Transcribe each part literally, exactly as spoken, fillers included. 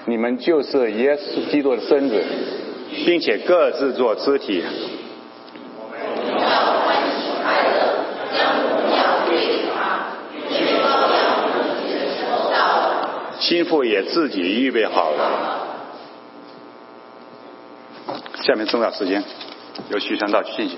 你们就是耶稣基督的身子， 并且各自做肢体。心腹也自己预备好了。下面重要时间由徐传道去进行。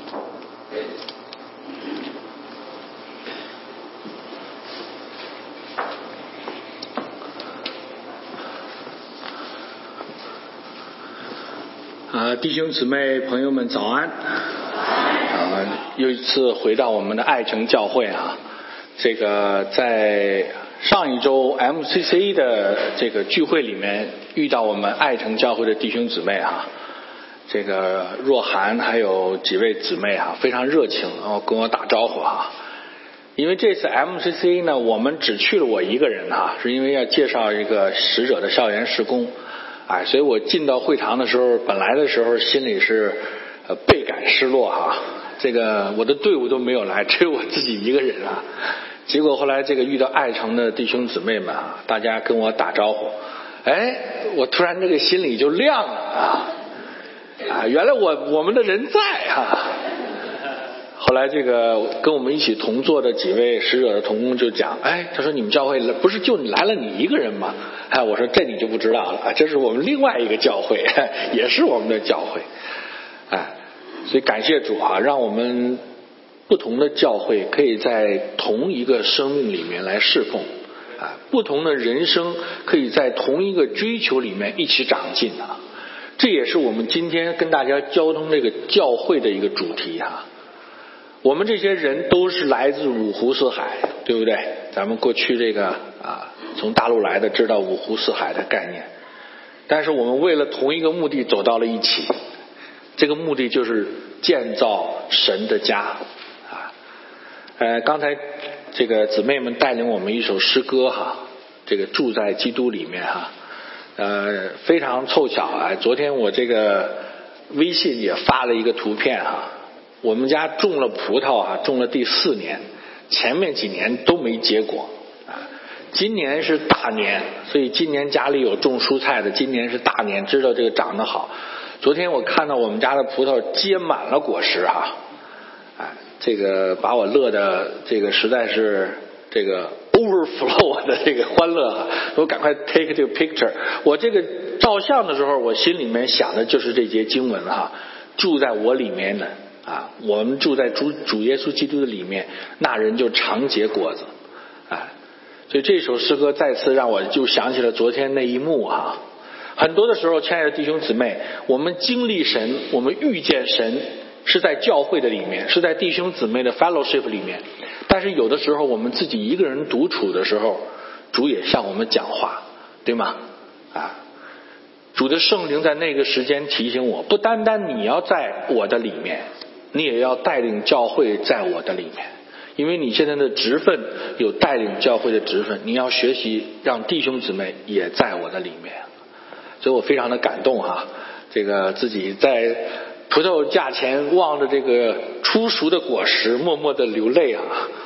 啊，弟兄姊妹朋友们早安！啊，又一次回到我们的爱城教会啊，这个在上一周 M C C 的这个聚会里面遇到我们爱城教会的弟兄姊妹啊，这个若涵还有几位姊妹啊，非常热情，然后跟我打招呼啊。因为这次 M C C 呢，我们只去了我一个人啊，是因为要介绍一个使者的校园事工。哎，所以我进到会堂的时候，本来的时候心里是呃倍感失落哈，这个我的队伍都没有来，只有我自己一个人啊。结果后来这个遇到爱城的弟兄姊妹们啊，大家跟我打招呼，哎，我突然这个心里就亮了啊啊，原来我我们的人在啊。后来这个跟我们一起同坐的几位使者的同工就讲，哎，他说你们教会不是就来了你一个人吗？哎，我说这你就不知道了，这是我们另外一个教会，也是我们的教会。哎，所以感谢主啊，让我们不同的教会可以在同一个生命里面来侍奉，啊，不同的人生可以在同一个追求里面一起长进啊。这也是我们今天跟大家交通这个教会的一个主题啊。我们这些人都是来自五湖四海，对不对？咱们过去这个啊，从大陆来的知道五湖四海的概念，但是我们为了同一个目的走到了一起，这个目的就是建造神的家啊。呃，刚才这个姊妹们带领我们一首诗歌哈，这个住在基督里面哈，呃，非常凑巧啊，昨天我这个微信也发了一个图片哈。我们家种了葡萄啊，种了第四年，前面几年都没结果啊。今年是大年，所以今年家里有种蔬菜的，今年是大年，知道这个长得好。昨天我看到我们家的葡萄结满了果实哈，哎，这个把我乐的这个实在是这个 overflow 的这个欢乐啊！我赶快 take 这个 picture。我这个照相的时候，我心里面想的就是这节经文哈，住在我里面的。啊，我们住在主主耶稣基督的里面，那人就常结果子。啊，所以这首诗歌再次让我就想起了昨天那一幕啊。很多的时候，亲爱的弟兄姊妹，我们经历神，我们遇见神，是在教会的里面，是在弟兄姊妹的 fellowship 里面。但是有的时候，我们自己一个人独处的时候，主也向我们讲话，对吗？啊。主的圣灵在那个时间提醒我，不单单你要在我的里面，你也要带领教会在我的里面，因为你现在的职分有带领教会的职分，你要学习让弟兄姊妹也在我的里面。所以我非常的感动哈，这个自己在葡萄架前望着这个初熟的果实默默的流泪啊。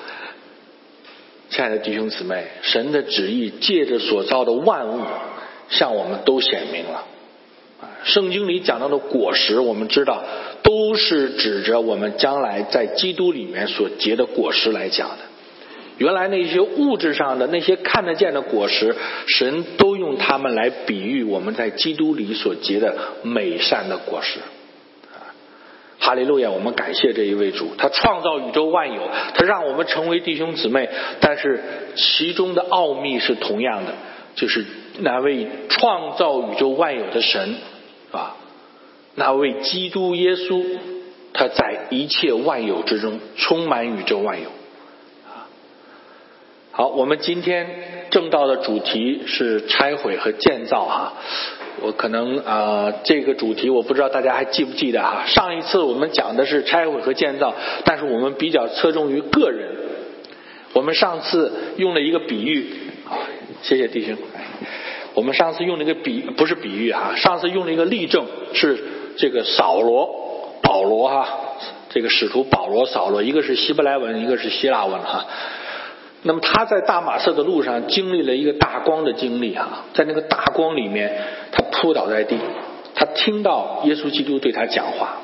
亲爱的弟兄姊妹，神的旨意借着所造的万物向我们都显明了。圣经里讲到的果实，我们知道都是指着我们将来在基督里面所结的果实来讲的。原来那些物质上的那些看得见的果实，神都用它们来比喻我们在基督里所结的美善的果实。哈利路亚，我们感谢这一位主，他创造宇宙万有，他让我们成为弟兄姊妹，但是其中的奥秘是同样的，就是那位创造宇宙万有的神啊，那位基督耶稣，他在一切万有之中充满宇宙万有。好，我们今天正道的主题是拆毁和建造哈。我可能啊、呃，这个主题我不知道大家还记不记得哈。上一次我们讲的是拆毁和建造，但是我们比较侧重于个人。我们上次用了一个比喻，啊，谢谢弟兄。我们上次用了一个比，不是比喻哈，上次用了一个例证，是这个扫罗、保罗哈，这个使徒保罗、扫罗，一个是希伯来文，一个是希腊文哈。 那么他在大马色的路上经历了一个大光的经历啊，在那个大光里面，他扑倒在地，他听到耶稣基督对他讲话。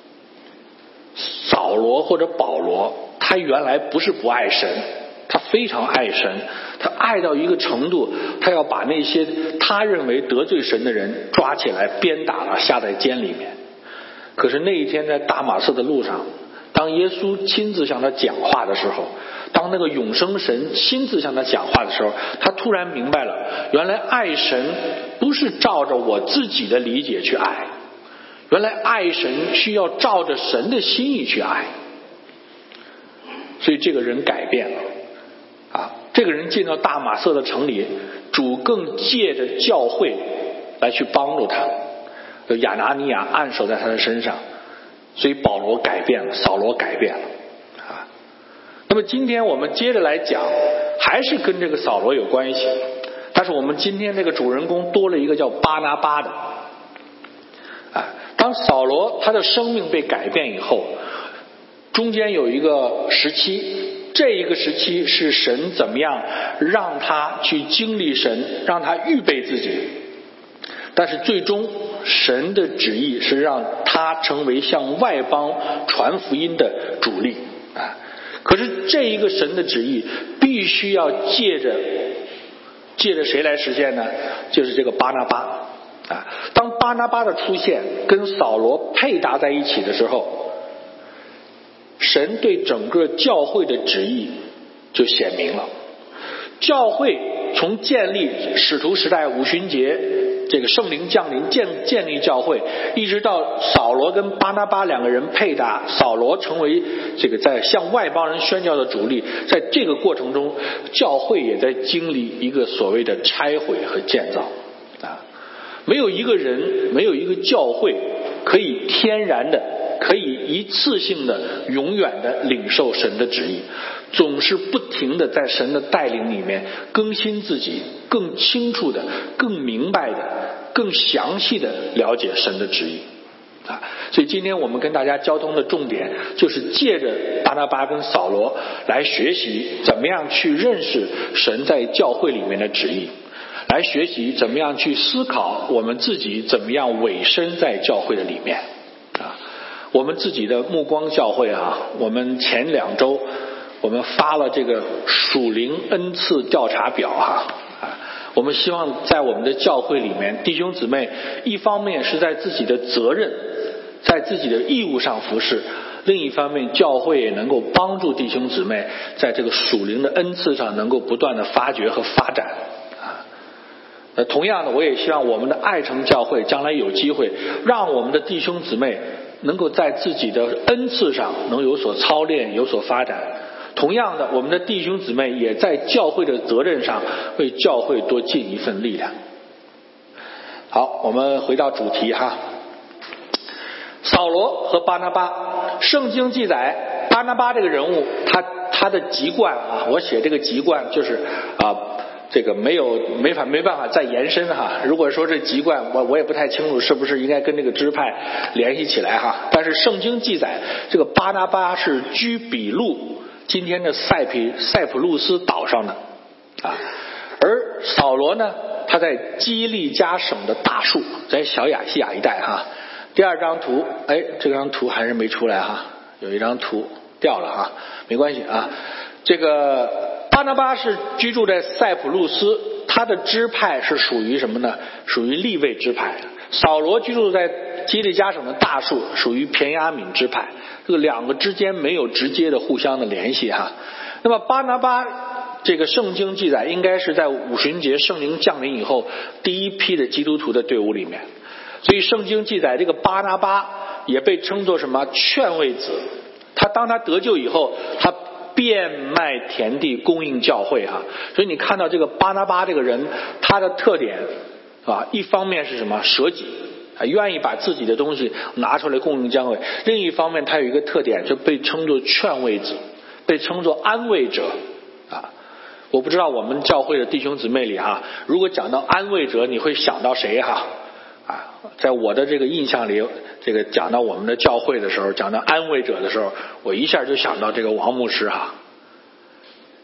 扫罗或者保罗，他原来不是不爱神，他非常爱神，他爱到一个程度，他要把那些他认为得罪神的人抓起来鞭打了，下在监里面。可是那一天在大马色的路上，当耶稣亲自向他讲话的时候，当那个永生神亲自向他讲话的时候，他突然明白了，原来爱神不是照着我自己的理解去爱，原来爱神需要照着神的心意去爱。所以这个人改变了啊！这个人进到大马色的城里，主更借着教会来去帮助他，亚拿尼亚按手在他的身上，所以保罗改变了，扫罗改变了啊。那么今天我们接着来讲，还是跟这个扫罗有关系，但是我们今天这个主人公多了一个叫巴拿巴的啊。当扫罗他的生命被改变以后，中间有一个时期，这一个时期是神怎么样让他去经历神，让他预备自己，但是最终神的旨意是让他成为向外邦传福音的主力啊。可是这一个神的旨意必须要借着借着谁来实现呢？就是这个巴拿巴啊。当巴拿巴的出现跟扫罗配搭在一起的时候，神对整个教会的旨意就显明了。教会从建立使徒时代五旬节，这个圣灵降临建建立教会，一直到扫罗跟巴拿巴两个人配搭，扫罗成为这个在向外邦人宣教的主力，在这个过程中，教会也在经历一个所谓的拆毁和建造啊。没有一个人，没有一个教会可以天然的，可以一次性的永远的领受神的旨意，总是不停的在神的带领里面更新自己，更清楚的，更明白的，更详细的了解神的旨意啊。所以今天我们跟大家交通的重点就是借着巴拿巴跟扫罗来学习怎么样去认识神在教会里面的旨意，来学习怎么样去思考我们自己怎么样委身在教会的里面啊。我们自己的目光教会啊，我们前两周我们发了这个属灵恩赐调查表哈啊，我们希望在我们的教会里面，弟兄姊妹一方面是在自己的责任，在自己的义务上服侍，另一方面教会也能够帮助弟兄姊妹在这个属灵的恩赐上能够不断的发掘和发展啊。呃，同样的，我也希望我们的爱城教会将来有机会让我们的弟兄姊妹能够在自己的恩赐上能有所操练，有所发展。同样的，我们的弟兄姊妹也在教会的责任上为教会多尽一份力量。好，我们回到主题哈。扫罗和巴拿巴，圣经记载巴拿巴这个人物，他他的籍贯啊，我写这个籍贯就是啊。这个没有没法没办法再延伸哈。如果说这籍贯，我我也不太清楚是不是应该跟这个支派联系起来哈。但是圣经记载，这个巴拿巴是居比路，今天的塞皮塞浦路斯岛上的啊，而扫罗呢，他在基利加省的大树，在小亚细亚一带哈。第二张图，哎，这张图还是没出来哈，有一张图掉了哈，没关系啊，这个。巴拿巴是居住在塞浦路斯，他的支派是属于什么呢？属于利未支派。扫罗居住在基利加省的大树，属于便雅悯支派。这个两个之间没有直接的互相的联系哈。那么巴拿巴这个圣经记载，应该是在五旬节圣灵降临以后第一批的基督徒的队伍里面。所以圣经记载这个巴拿巴也被称作什么？劝慰子。他当他得救以后，他变卖田地供应教会哈，所以你看到这个巴拿巴这个人，他的特点啊，一方面是什么？舍己啊，愿意把自己的东西拿出来供应教会；另一方面，他有一个特点，就被称作劝慰子，被称作安慰者啊。我不知道我们教会的弟兄姊妹里哈，如果讲到安慰者，你会想到谁哈？啊，在我的这个印象里，这个讲到我们的教会的时候，讲到安慰者的时候，我一下就想到这个王牧师哈。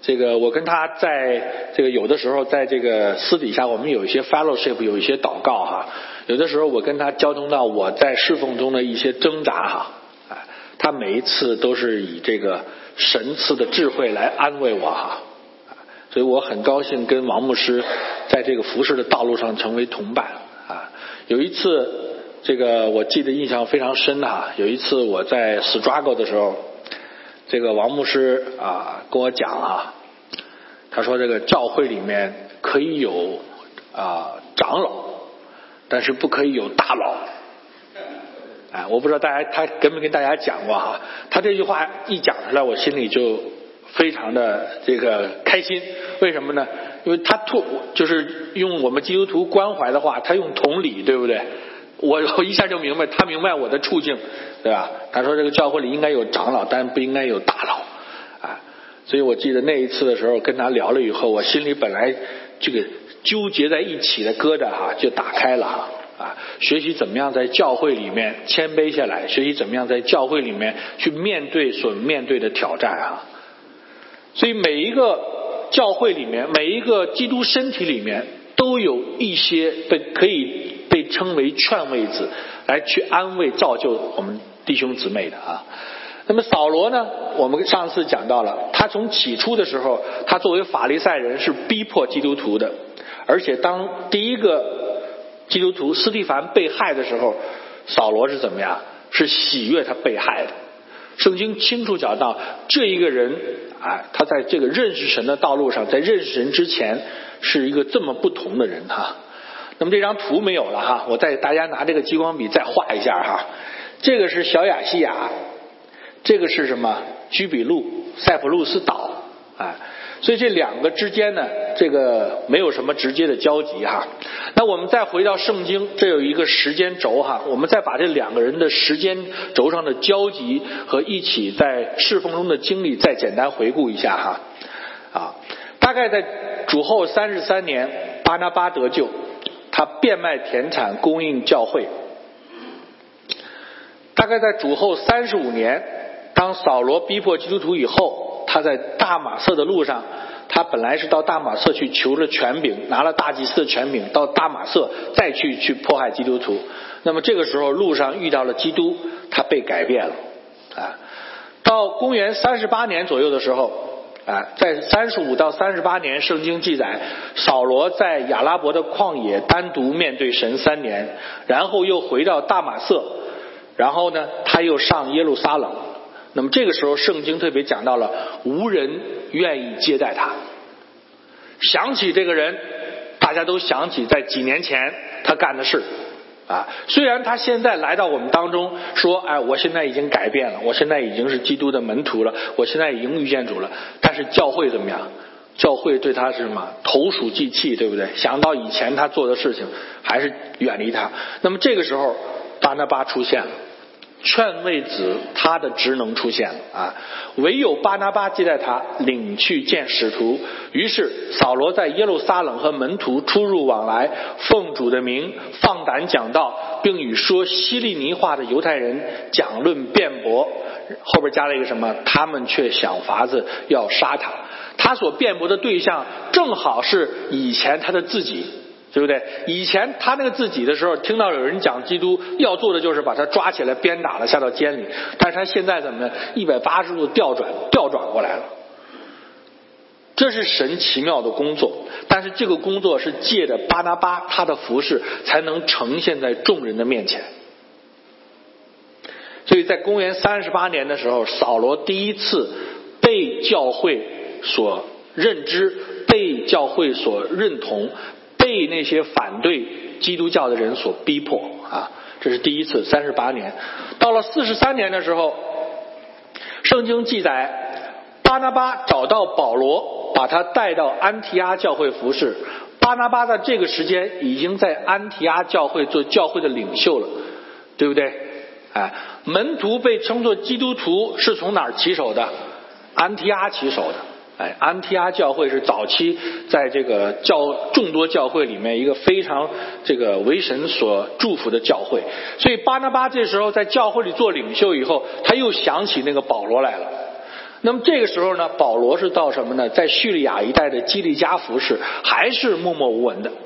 这个我跟他在这个有的时候在这个私底下我们有一些 fellowship， 有一些祷告哈，有的时候我跟他交通到我在侍奉中的一些挣扎哈，他每一次都是以这个神赐的智慧来安慰我哈，所以我很高兴跟王牧师在这个服事的道路上成为同伴啊。有一次这个我记得印象非常深哈，有一次我在 struggle 的时候，这个王牧师啊跟我讲啊，他说这个教会里面可以有啊长老，但是不可以有大佬。哎，我不知道大家他跟没跟大家讲过哈，他这句话一讲出来，我心里就非常的这个开心。为什么呢？因为他突就是用我们基督徒关怀的话，他用同理，对不对？我我一下就明白，他明白我的处境，对吧？他说这个教会里应该有长老，但不应该有大佬，啊，所以我记得那一次的时候跟他聊了以后，我心里本来这个纠结在一起的疙瘩哈就打开了哈，啊，学习怎么样在教会里面谦卑下来，学习怎么样在教会里面去面对所面对的挑战啊。所以每一个教会里面，每一个基督身体里面，都有一些被可以被称为劝慰子来去安慰造就我们弟兄姊妹的啊。那么扫罗呢，我们上次讲到了，他从起初的时候，他作为法利赛人是逼迫基督徒的，而且当第一个基督徒司提反被害的时候，扫罗是怎么样？是喜悦他被害的。圣经清楚讲到，这一个人啊，他在这个认识神的道路上，在认识神之前是一个这么不同的人哈。那么这张图没有了哈，我再大家拿这个激光笔再画一下哈。这个是小亚细亚，这个是什么？居比路、塞浦路斯岛，哎，所以这两个之间呢，这个没有什么直接的交集哈。那我们再回到圣经，这有一个时间轴哈，我们再把这两个人的时间轴上的交集和一起在侍奉中的经历再简单回顾一下哈。啊，大概在主后三十三年，巴拿巴得救，他变卖田产供应教会。大概在主后三十五年，当扫罗逼迫基督徒以后，他在大马色的路上，他本来是到大马色去求了权柄，拿了大祭司的权柄，到大马色再去去迫害基督徒。那么这个时候路上遇到了基督，他被改变了啊。到公元三十八年左右的时候啊，在三十五到三十八年，圣经记载扫罗在亚拉伯的旷野单独面对神三年，然后又回到大马色，然后呢他又上耶路撒冷。那么这个时候圣经特别讲到了无人愿意接待他。想起这个人，大家都想起在几年前他干的事啊。虽然他现在来到我们当中说，哎，我现在已经改变了，我现在已经是基督的门徒了，我现在已经遇见主了，但是教会怎么样？教会对他是什么？投鼠忌器，对不对？想到以前他做的事情，还是远离他。那么这个时候巴拿巴出现了，劝慰子他的职能出现了啊，唯有巴拿巴接待他，领去见使徒。于是扫罗在耶路撒冷和门徒出入往来，奉主的名放胆讲道，并与说希利尼话的犹太人讲论辩驳。后边加了一个什么？他们却想法子要杀他。他所辩驳的对象正好是以前他的自己，对不对？以前他那个自己的时候，听到有人讲基督，要做的就是把他抓起来鞭打了，下到监里。但是他现在怎么呢？一百八十度调转，调转过来了。这是神奇妙的工作，但是这个工作是借着巴拿巴他的服事才能呈现在众人的面前。所以在公元三十八年的时候，扫罗第一次被教会所认知，被教会所认同，被那些反对基督教的人所逼迫啊，这是第一次。三十八年，到了四十三年的时候，圣经记载巴拿巴找到保罗，把他带到安提阿教会服侍。巴拿巴在这个时间已经在安提阿教会做教会的领袖了，对不对？哎，门徒被称作基督徒是从哪儿起手的？安提阿起手的。哎，安提阿教会是早期在这个教众多教会里面一个非常这个为神所祝福的教会。所以巴拿巴这时候在教会里做领袖以后，他又想起那个保罗来了那么这个时候呢，保罗是到什么呢？在叙利亚一带的基利家服侍，还是默默无闻的。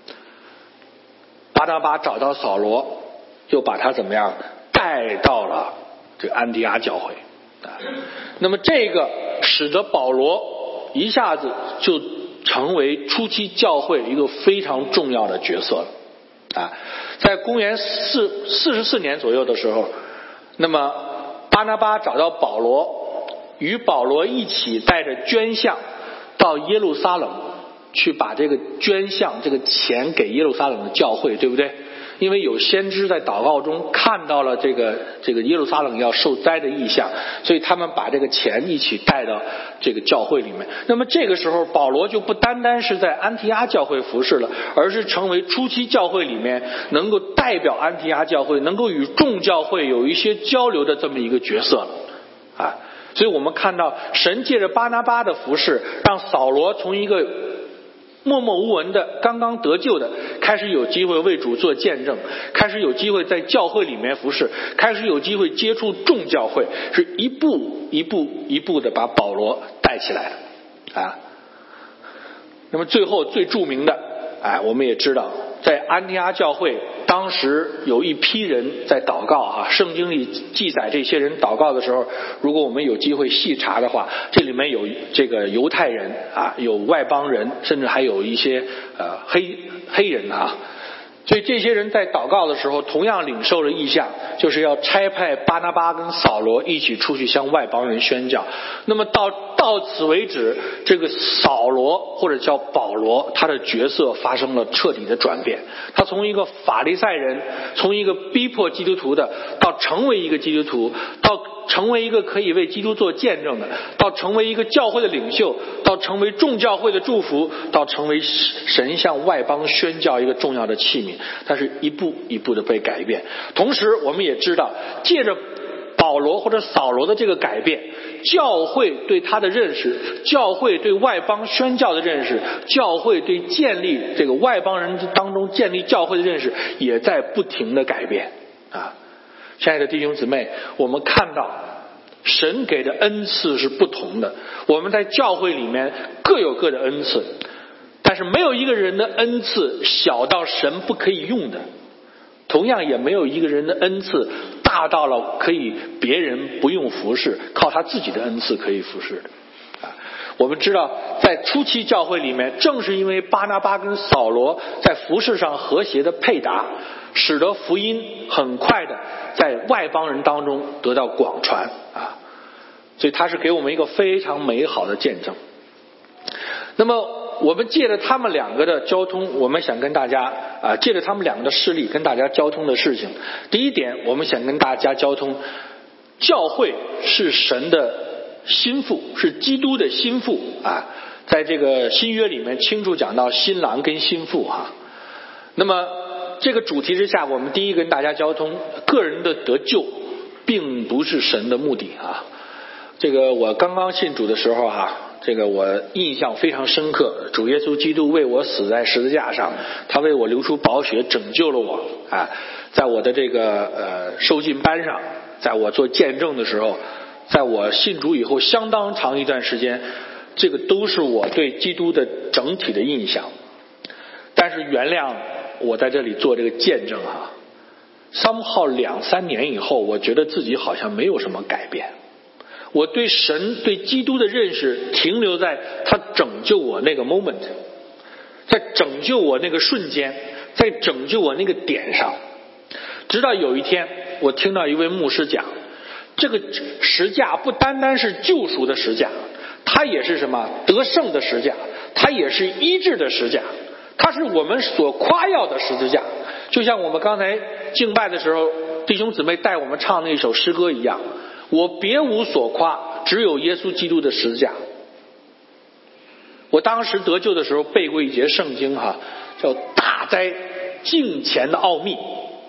巴拿巴找到扫罗，就把他怎么样带到了这个安提阿教会。那么这个使得保罗一下子就成为初期教会一个非常重要的角色了啊。在公元四四十四年左右的时候，那么巴拿巴找到保罗，与保罗一起带着捐项到耶路撒冷去，把这个捐项这个钱给耶路撒冷的教会，对不对？因为有先知在祷告中看到了这个这个耶路撒冷要受灾的异象，所以他们把这个钱一起带到这个教会里面。那么这个时候保罗就不单单是在安提阿教会服侍了，而是成为初期教会里面能够代表安提阿教会，能够与众教会有一些交流的这么一个角色了啊。所以我们看到神借着巴拿巴的服侍，让扫罗从一个默默无闻的刚刚得救的，开始有机会为主做见证，开始有机会在教会里面服侍，开始有机会接触众教会，是一步一步一步的把保罗带起来的啊。那么最后最著名的，哎，我们也知道在安提阿教会当时有一批人在祷告啊，圣经里记载这些人祷告的时候，如果我们有机会细查的话，这里面有这个犹太人啊，有外邦人，甚至还有一些呃黑黑人啊。所以这些人在祷告的时候同样领受了异象，就是要差派巴拿巴跟扫罗一起出去向外邦人宣教。那么到到此为止，这个扫罗或者叫保罗，他的角色发生了彻底的转变。他从一个法利赛人，从一个逼迫基督徒的，到成为一个基督徒，到成为一个可以为基督做见证的，到成为一个教会的领袖，到成为众教会的祝福，到成为神向外邦宣教一个重要的器皿。但是一步一步的被改变。同时我们也知道，借着保罗或者扫罗的这个改变，教会对他的认识，教会对外邦宣教的认识，教会对建立这个外邦人当中建立教会的认识，也在不停的改变啊。亲爱的弟兄姊妹，我们看到神给的恩赐是不同的，我们在教会里面各有各的恩赐，但是没有一个人的恩赐小到神不可以用的，同样也没有一个人的恩赐大到了可以别人不用服侍，靠他自己的恩赐可以服侍的啊。我们知道在初期教会里面，正是因为巴拿巴跟扫罗在服侍上和谐的配搭，使得福音很快的在外邦人当中得到广传啊。所以他是给我们一个非常美好的见证。那么我们借着他们两个的交通，我们想跟大家啊，借着他们两个的事例跟大家交通的事情。第一点，我们想跟大家交通，教会是神的心腹，是基督的心腹啊。在这个新约里面清楚讲到新郎跟心腹啊。那么这个主题之下，我们第一跟大家交通，个人的得救并不是神的目的啊。这个我刚刚信主的时候啊，这个我印象非常深刻，主耶稣基督为我死在十字架上，他为我流出宝血拯救了我啊。在我的这个呃受浸班上，在我做见证的时候，在我信主以后相当长一段时间，这个都是我对基督的整体的印象。但是原谅我在这里做这个见证啊，somehow两三年以后，我觉得自己好像没有什么改变。我对神对基督的认识停留在他拯救我那个 moment， 在拯救我那个瞬间，在拯救我那个点上。直到有一天我听到一位牧师讲，这个十架不单单是救赎的十架，它也是什么得胜的十架，它也是医治的十架，它是我们所夸耀的十字架。就像我们刚才敬拜的时候弟兄姊妹带我们唱那首诗歌一样，我别无所夸，只有耶稣基督的十字架。我当时得救的时候背过一节圣经哈，叫大哉敬虔的奥秘。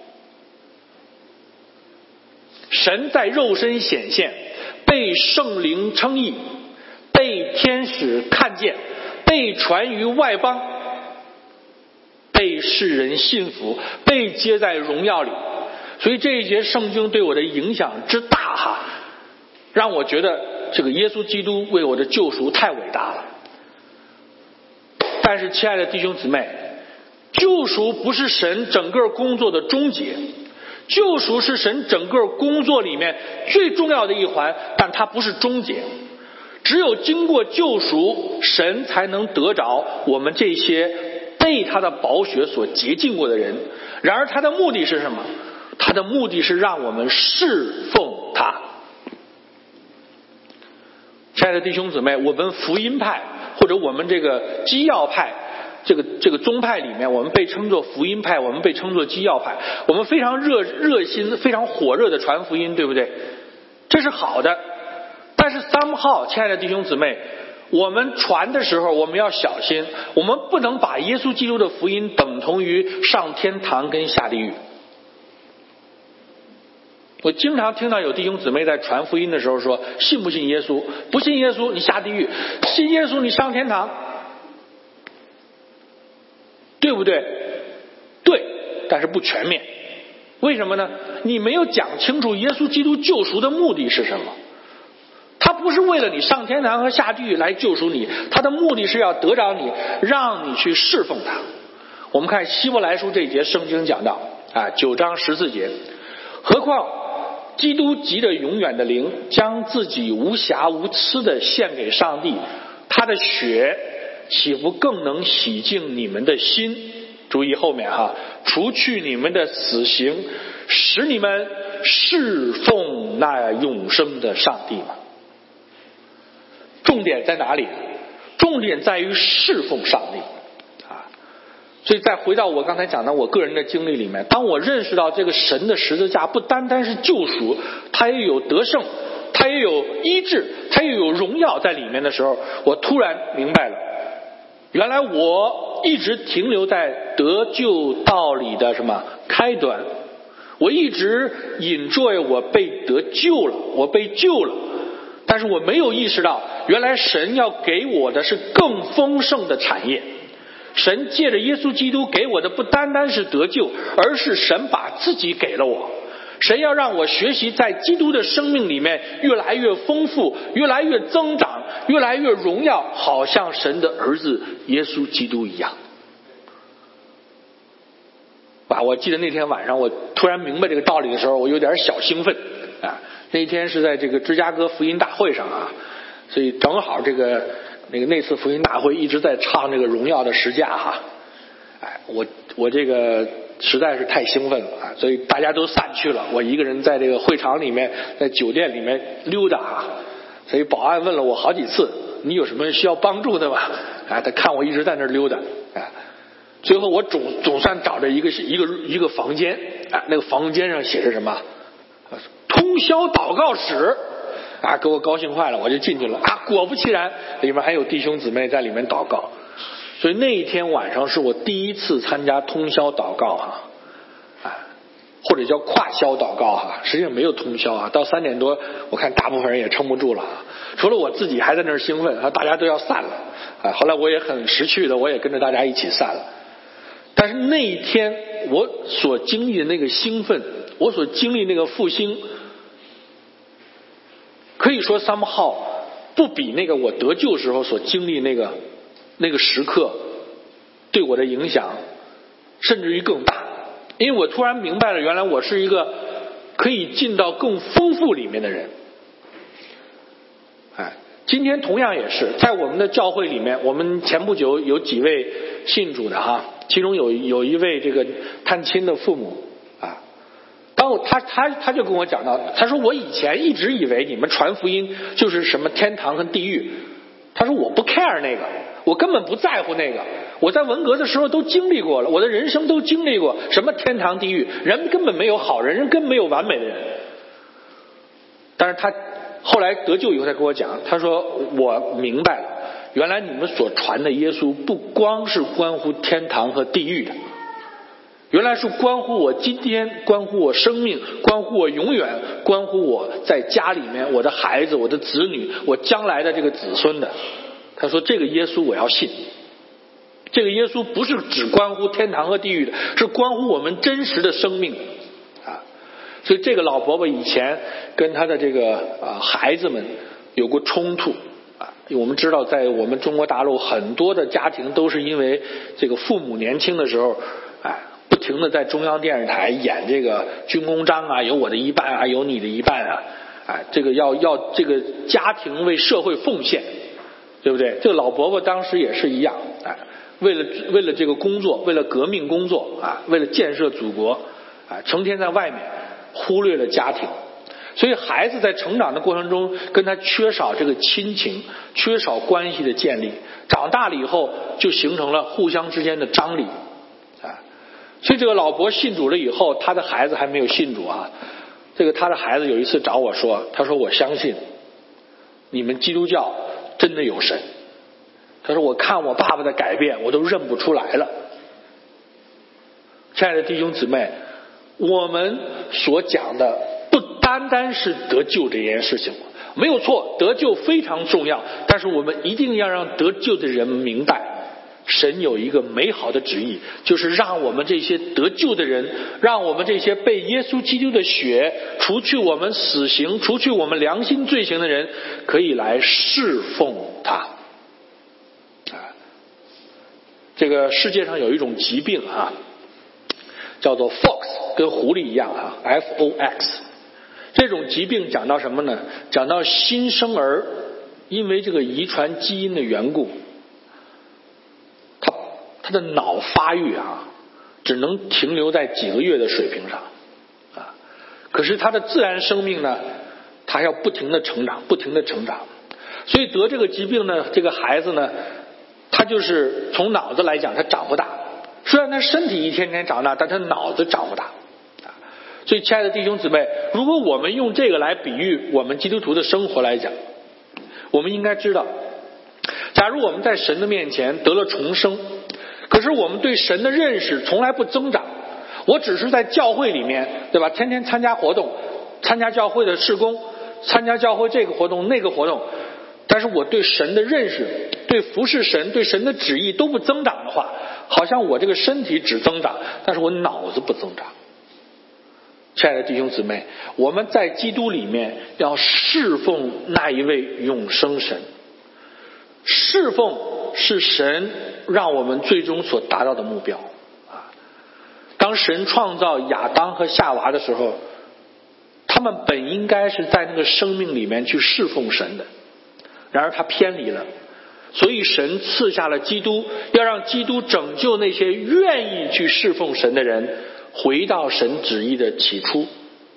神在肉身显现，被圣灵称义，被天使看见，被传于外邦，被世人信服，被接在荣耀里。所以这一节圣经对我的影响之大哈，让我觉得这个耶稣基督为我的救赎太伟大了。但是亲爱的弟兄姊妹，救赎不是神整个工作的终结，救赎是神整个工作里面最重要的一环，但它不是终结。只有经过救赎，神才能得着我们这些被他的宝血所洁净过的人。然而他的目的是什么？他的目的是让我们侍奉他。亲爱的弟兄姊妹，我们福音派或者我们这个基要派这个这个宗派里面，我们被称作福音派，我们被称作基要派，我们非常热热心非常火热的传福音，对不对？这是好的。但是 somehow 亲爱的弟兄姊妹，我们传的时候我们要小心，我们不能把耶稣基督的福音等同于上天堂跟下地狱。我经常听到有弟兄姊妹在传福音的时候说，信不信耶稣？不信耶稣你下地狱，信耶稣你上天堂，对不对？对，但是不全面。为什么呢？你没有讲清楚耶稣基督救赎的目的是什么。他不是为了你上天堂和下地狱来救赎你，他的目的是要得着你，让你去侍奉他。我们看希伯来书这一节圣经讲到啊，九章十四节，何况基督藉着永远的灵，将自己无瑕无疵的献给上帝，他的血岂不更能洗净你们的心？注意后面哈，除去你们的死刑，使你们侍奉那永生的上帝吗？重点在哪里？重点在于侍奉上帝啊！所以再回到我刚才讲的我个人的经历里面，当我认识到这个神的十字架不单单是救赎，它也有得胜，它也有医治，它也有荣耀在里面的时候，我突然明白了，原来我一直停留在得救道理的什么开端，我一直 enjoy 我被得救了，我被救了，但是我没有意识到原来神要给我的是更丰盛的产业。神借着耶稣基督给我的不单单是得救，而是神把自己给了我。神要让我学习在基督的生命里面越来越丰富，越来越增长，越来越荣耀，好像神的儿子耶稣基督一样。啊，我记得那天晚上我突然明白这个道理的时候，我有点小兴奋啊。那一天是在这个芝加哥福音大会上啊，所以正好这个那个那次福音大会一直在唱这个荣耀的十架哈，哎，我我这个实在是太兴奋了啊，所以大家都散去了，我一个人在这个会场里面，在酒店里面溜达啊，所以保安问了我好几次，你有什么需要帮助的吗？啊，他看我一直在那儿溜达啊，最后我总总算找着一个一个一个房间啊，那个房间上写着什么？通宵祷告室啊，给我高兴坏了，我就进去了啊，果不其然，里面还有弟兄姊妹在里面祷告。所以那一天晚上是我第一次参加通宵祷告哈，啊，或者叫跨宵祷告哈，实际上没有通宵啊，到三点多，我看大部分人也撑不住了啊，除了我自己还在那儿兴奋啊，大家都要散了啊，后来我也很识趣的，我也跟着大家一起散了。但是那一天我所经历的那个兴奋，我所经历那个复兴，可以说 somehow 不比那个我得救时候所经历那个那个时刻对我的影响甚至于更大，因为我突然明白了，原来我是一个可以进到更丰富里面的人。哎，今天同样也是在我们的教会里面，我们前不久有几位信主的哈，其中有有一位这个探亲的父母啊，当我他他他就跟我讲到，他说我以前一直以为你们传福音就是什么天堂和地狱，他说我不 care 那个，我根本不在乎那个，我在文革的时候都经历过了，我的人生都经历过什么天堂地狱，人根本没有好人，人根本没有完美的人。但是他后来得救以后，他跟我讲，他说我明白了，原来你们所传的耶稣不光是关乎天堂和地狱的，原来是关乎我今天，关乎我生命，关乎我永远，关乎我在家里面我的孩子，我的子女，我将来的这个子孙的。他说这个耶稣我要信，这个耶稣不是只关乎天堂和地狱的，是关乎我们真实的生命啊。所以这个老伯伯以前跟他的这个啊孩子们有过冲突啊。我们知道在我们中国大陆很多的家庭都是因为这个父母年轻的时候哎，不停的在中央电视台演这个军功章啊，有我的一半啊，有你的一半啊，哎，这个要要这个家庭为社会奉献，对不对？这个老伯伯当时也是一样，哎，为了为了这个工作，为了革命工作啊，为了建设祖国啊，成天在外面忽略了家庭。所以孩子在成长的过程中跟他缺少这个亲情，缺少关系的建立，长大了以后就形成了互相之间的张力啊。所以这个老伯信主了以后，他的孩子还没有信主啊。这个他的孩子有一次找我说，他说我相信你们基督教真的有神。他说我看我爸爸的改变我都认不出来了。亲爱的弟兄姊妹，我们所讲的不单单是得救这件事情，没有错，得救非常重要，但是我们一定要让得救的人明白神有一个美好的旨意，就是让我们这些得救的人，让我们这些被耶稣基督的血除去我们死刑，除去我们良心罪行的人，可以来侍奉他。这个世界上有一种疾病啊，叫做 Fox， 跟狐狸一样啊 F O X。 这种疾病讲到什么呢？讲到新生儿因为这个遗传基因的缘故，他他的脑发育啊只能停留在几个月的水平上啊，可是他的自然生命呢，他要不停的成长，不停的成长。所以得这个疾病呢，这个孩子呢，他就是从脑子来讲他长不大，虽然他身体一天天长大，但他脑子长不大。所以亲爱的弟兄姊妹，如果我们用这个来比喻我们基督徒的生活来讲，我们应该知道，假如我们在神的面前得了重生，可是我们对神的认识从来不增长，我只是在教会里面，对吧，天天参加活动，参加教会的事工，参加教会这个活动那个活动，但是我对神的认识，对服侍神，对神的旨意都不增长的话，好像我这个身体只增长，但是我脑子不增长。亲爱的弟兄姊妹，我们在基督里面要侍奉那一位永生神，侍奉是神让我们最终所达到的目标啊。当神创造亚当和夏娃的时候，他们本应该是在那个生命里面去侍奉神的，然而他偏离了，所以神赐下了基督，要让基督拯救那些愿意去侍奉神的人，回到神旨意的起初。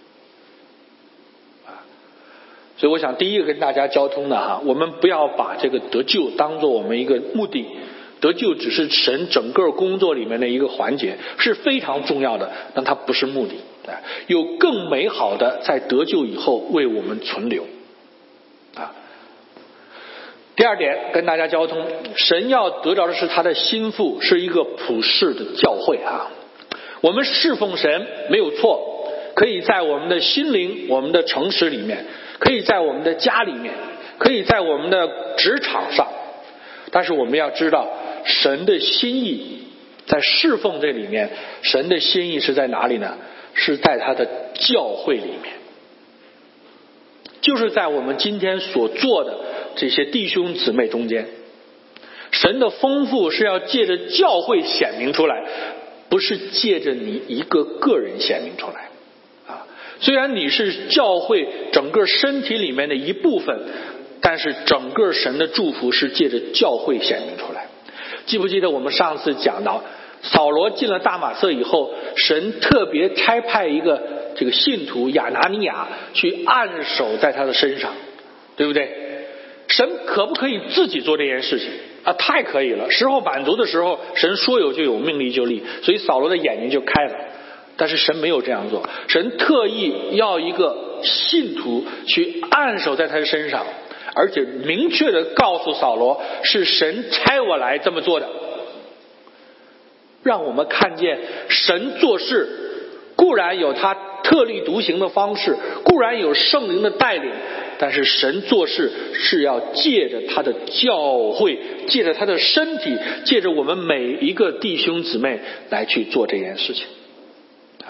所以我想第一个跟大家交通的哈，我们不要把这个得救当作我们一个目的，得救只是神整个工作里面的一个环节，是非常重要的，但它不是目的，有更美好的在得救以后为我们存留啊。第二点跟大家交通，神要得着的是他的心腹，是一个普世的教会啊。我们侍奉神没有错，可以在我们的心灵，我们的城市里面，可以在我们的家里面，可以在我们的职场上，但是我们要知道神的心意在侍奉这里面，神的心意是在哪里呢？是在他的教会里面，就是在我们今天所做的这些弟兄姊妹中间，神的丰富是要借着教会显明出来，不是借着你一个个人显明出来啊。虽然你是教会整个身体里面的一部分，但是整个神的祝福是借着教会显明出来。记不记得我们上次讲到扫罗进了大马色以后，神特别差派一个这个信徒亚拿尼亚去按手在他的身上，对不对？神可不可以自己做这件事情啊？太可以了，时候满足的时候，神说有就有，命立就立，所以扫罗的眼睛就开了。但是神没有这样做，神特意要一个信徒去按手在他的身上，而且明确的告诉扫罗，是神差我来这么做的。让我们看见神做事固然有他特立独行的方式，固然有圣灵的带领，但是神做事是要借着他的教会，借着他的身体，借着我们每一个弟兄姊妹来去做这件事情啊。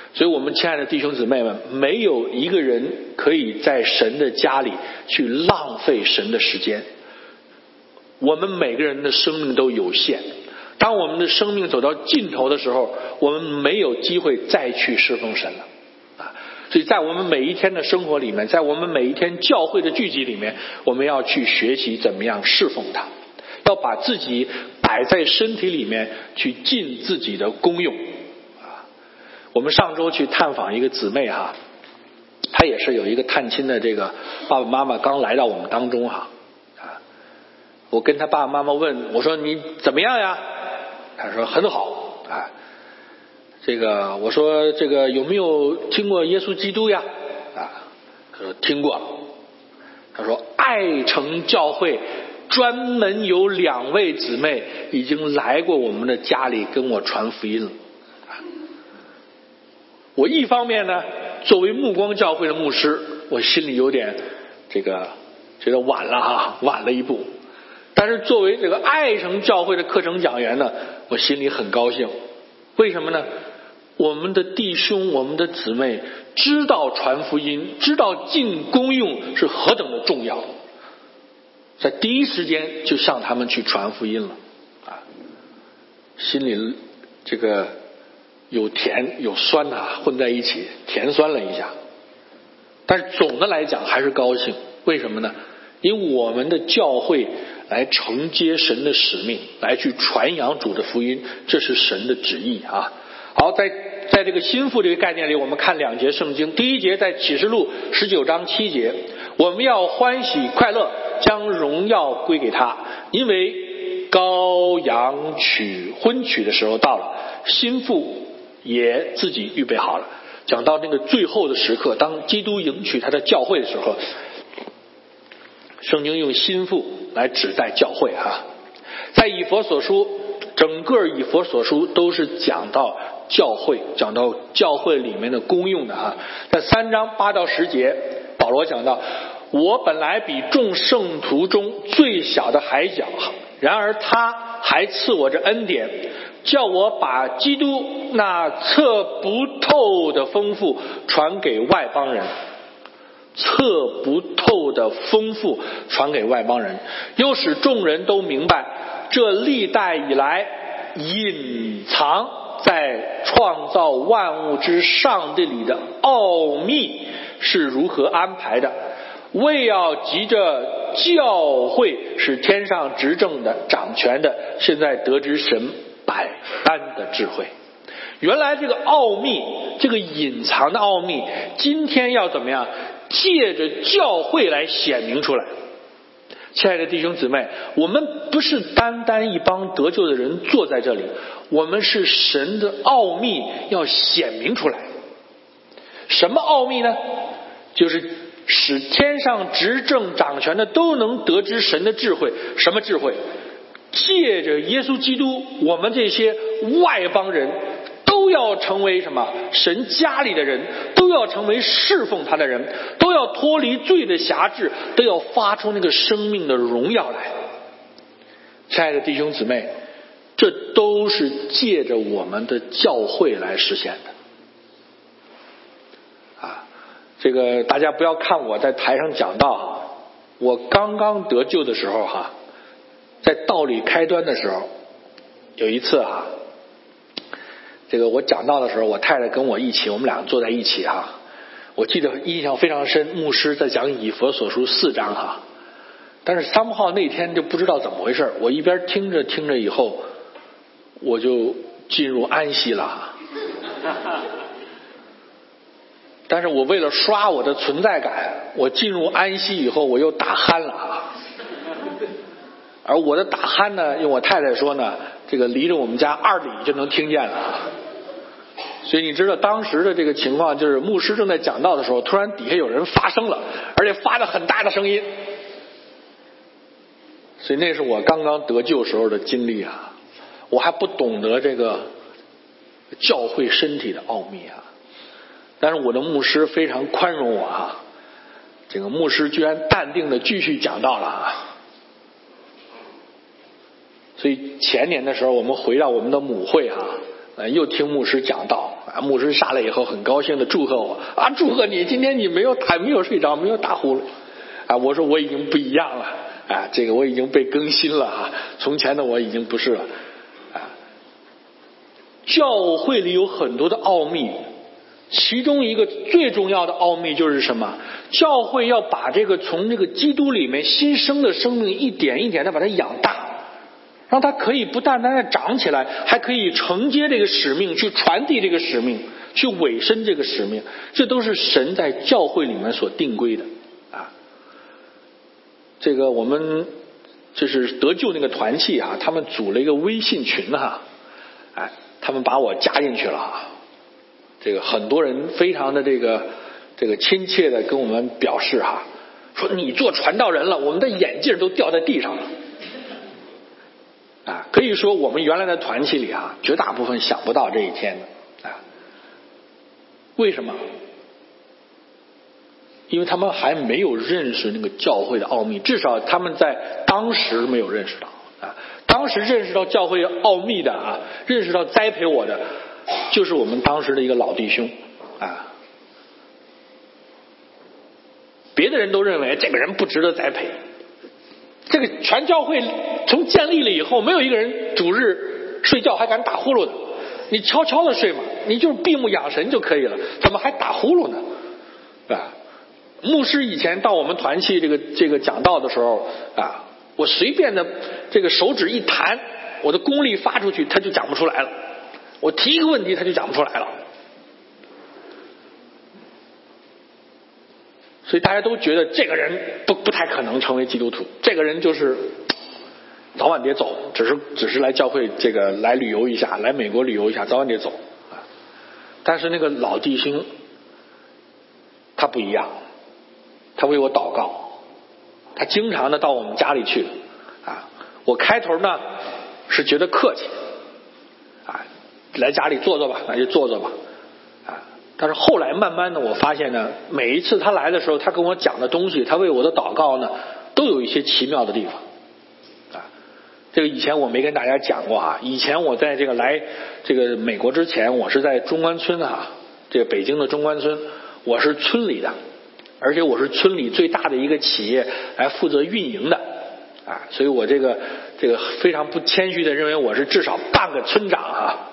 所以我们亲爱的弟兄姊妹们，没有一个人可以在神的家里去浪费神的时间。我们每个人的生命都有限，当我们的生命走到尽头的时候，我们没有机会再去侍奉神了啊！所以在我们每一天的生活里面，在我们每一天教会的聚集里面，我们要去学习怎么样侍奉他，要把自己摆在身体里面去尽自己的功用啊！我们上周去探访一个姊妹哈，她也是有一个探亲的这个爸爸妈妈刚来到我们当中哈。我跟他爸爸妈妈问，我说你怎么样呀？他说很好啊。这个我说这个有没有听过耶稣基督呀？啊，他说听过。他说爱城教会专门有两位姊妹已经来过我们的家里跟我传福音了。我一方面呢，作为目光教会的牧师，我心里有点这个觉得晚了哈，晚了一步。但是作为这个爱城教会的课程讲员呢，我心里很高兴。为什么呢？我们的弟兄我们的姊妹知道传福音，知道尽功用是何等的重要，在第一时间就向他们去传福音了啊！心里这个有甜有酸啊，混在一起，甜酸了一下。但是总的来讲还是高兴。为什么呢？因为我们的教会来承接神的使命，来去传扬主的福音，这是神的旨意啊。好，在在这个心腹这个概念里，我们看两节圣经。第一节在启示录十九章七节，我们要欢喜快乐，将荣耀归给他，因为羔羊娶婚娶的时候到了，心腹也自己预备好了。讲到那个最后的时刻，当基督迎娶他的教会的时候，圣经用心腹来指代教会哈。在以弗所书，整个以弗所书都是讲到教会，讲到教会里面的功用的哈。在三章八到十节，保罗讲到，我本来比众圣徒中最小的还小，然而他还赐我这恩典，叫我把基督那测不透的丰富传给外邦人。测不透的丰富传给外邦人，又使众人都明白这历代以来隐藏在创造万物之上帝里的奥秘是如何安排的，为要急着教会使天上执政的掌权的现在得知神百般的智慧。原来这个奥秘，这个隐藏的奥秘，今天要怎么样借着教会来显明出来。亲爱的弟兄姊妹，我们不是单单一帮得救的人坐在这里，我们是神的奥秘要显明出来。什么奥秘呢？就是使天上执政掌权的都能得知神的智慧。什么智慧？借着耶稣基督，我们这些外邦人都要成为什么？神家里的人，都要成为侍奉他的人，都要脱离罪的辖制，都要发出那个生命的荣耀来。亲爱的弟兄姊妹，这都是借着我们的教会来实现的啊！这个大家不要看我在台上讲道，我刚刚得救的时候哈，在道理开端的时候，有一次啊，这个我讲道的时候，我太太跟我一起，我们俩坐在一起哈。我记得印象非常深，牧师在讲以弗所书四章哈。但是三号那天就不知道怎么回事，我一边听着听着以后，我就进入安息了。但是我为了刷我的存在感，我进入安息以后，我又打鼾了啊。而我的打鼾呢，用我太太说呢，这个离着我们家二里就能听见了。所以你知道当时的这个情况，就是牧师正在讲道的时候，突然底下有人发声了，而且发着很大的声音。所以那是我刚刚得救时候的经历啊，我还不懂得这个教会身体的奥秘啊。但是我的牧师非常宽容我啊，这个牧师居然淡定的继续讲道了啊。所以前年的时候，我们回到我们的母会啊，呃，又听牧师讲道啊， 啊，牧师下来以后很高兴的祝贺我啊，祝贺你，今天你没有打没有睡着，没有打呼噜啊。我说我已经不一样了啊，这个我已经被更新了啊，从前的我已经不是了啊。教会里有很多的奥秘，其中一个最重要的奥秘就是什么？教会要把这个从这个基督里面新生的生命一点一点的把它养大，让它可以不单单的长起来，还可以承接这个使命，去传递这个使命，去委身这个使命。这都是神在教会里面所定规的啊。这个我们就是得救那个团契啊，他们组了一个微信群哈，哎，他们把我加进去了啊。这个很多人非常的这个这个亲切的跟我们表示哈，说你做传道人了，我们的眼镜都掉在地上了。啊，可以说我们原来的团契里啊，绝大部分想不到这一天的啊。为什么？因为他们还没有认识那个教会的奥秘，至少他们在当时没有认识到啊。当时认识到教会奥秘的啊，认识到栽培我的，就是我们当时的一个老弟兄啊。别的人都认为这个人不值得栽培。这个全教会从建立了以后，没有一个人主日睡觉还敢打呼噜的。你悄悄的睡嘛，你就是闭目养神就可以了，怎么还打呼噜呢？啊，牧师以前到我们团契这个这个讲道的时候啊，我随便的这个手指一弹，我的功力发出去，他就讲不出来了。我提一个问题，他就讲不出来了。所以大家都觉得这个人不不太可能成为基督徒，这个人就是早晚得走，只是只是来教会这个来旅游一下，来美国旅游一下，早晚得走啊。但是那个老弟兄他不一样，他为我祷告，他经常的到我们家里去啊。我开头呢是觉得客气啊，来家里坐坐吧，那就坐坐吧。但是后来慢慢的我发现呢，每一次他来的时候，他跟我讲的东西，他为我的祷告呢，都有一些奇妙的地方啊。这个以前我没跟大家讲过啊，以前我在这个来这个美国之前，我是在中关村啊，这个北京的中关村，我是村里的，而且我是村里最大的一个企业来负责运营的啊，所以我这个这个非常不谦虚的认为我是至少半个村长啊。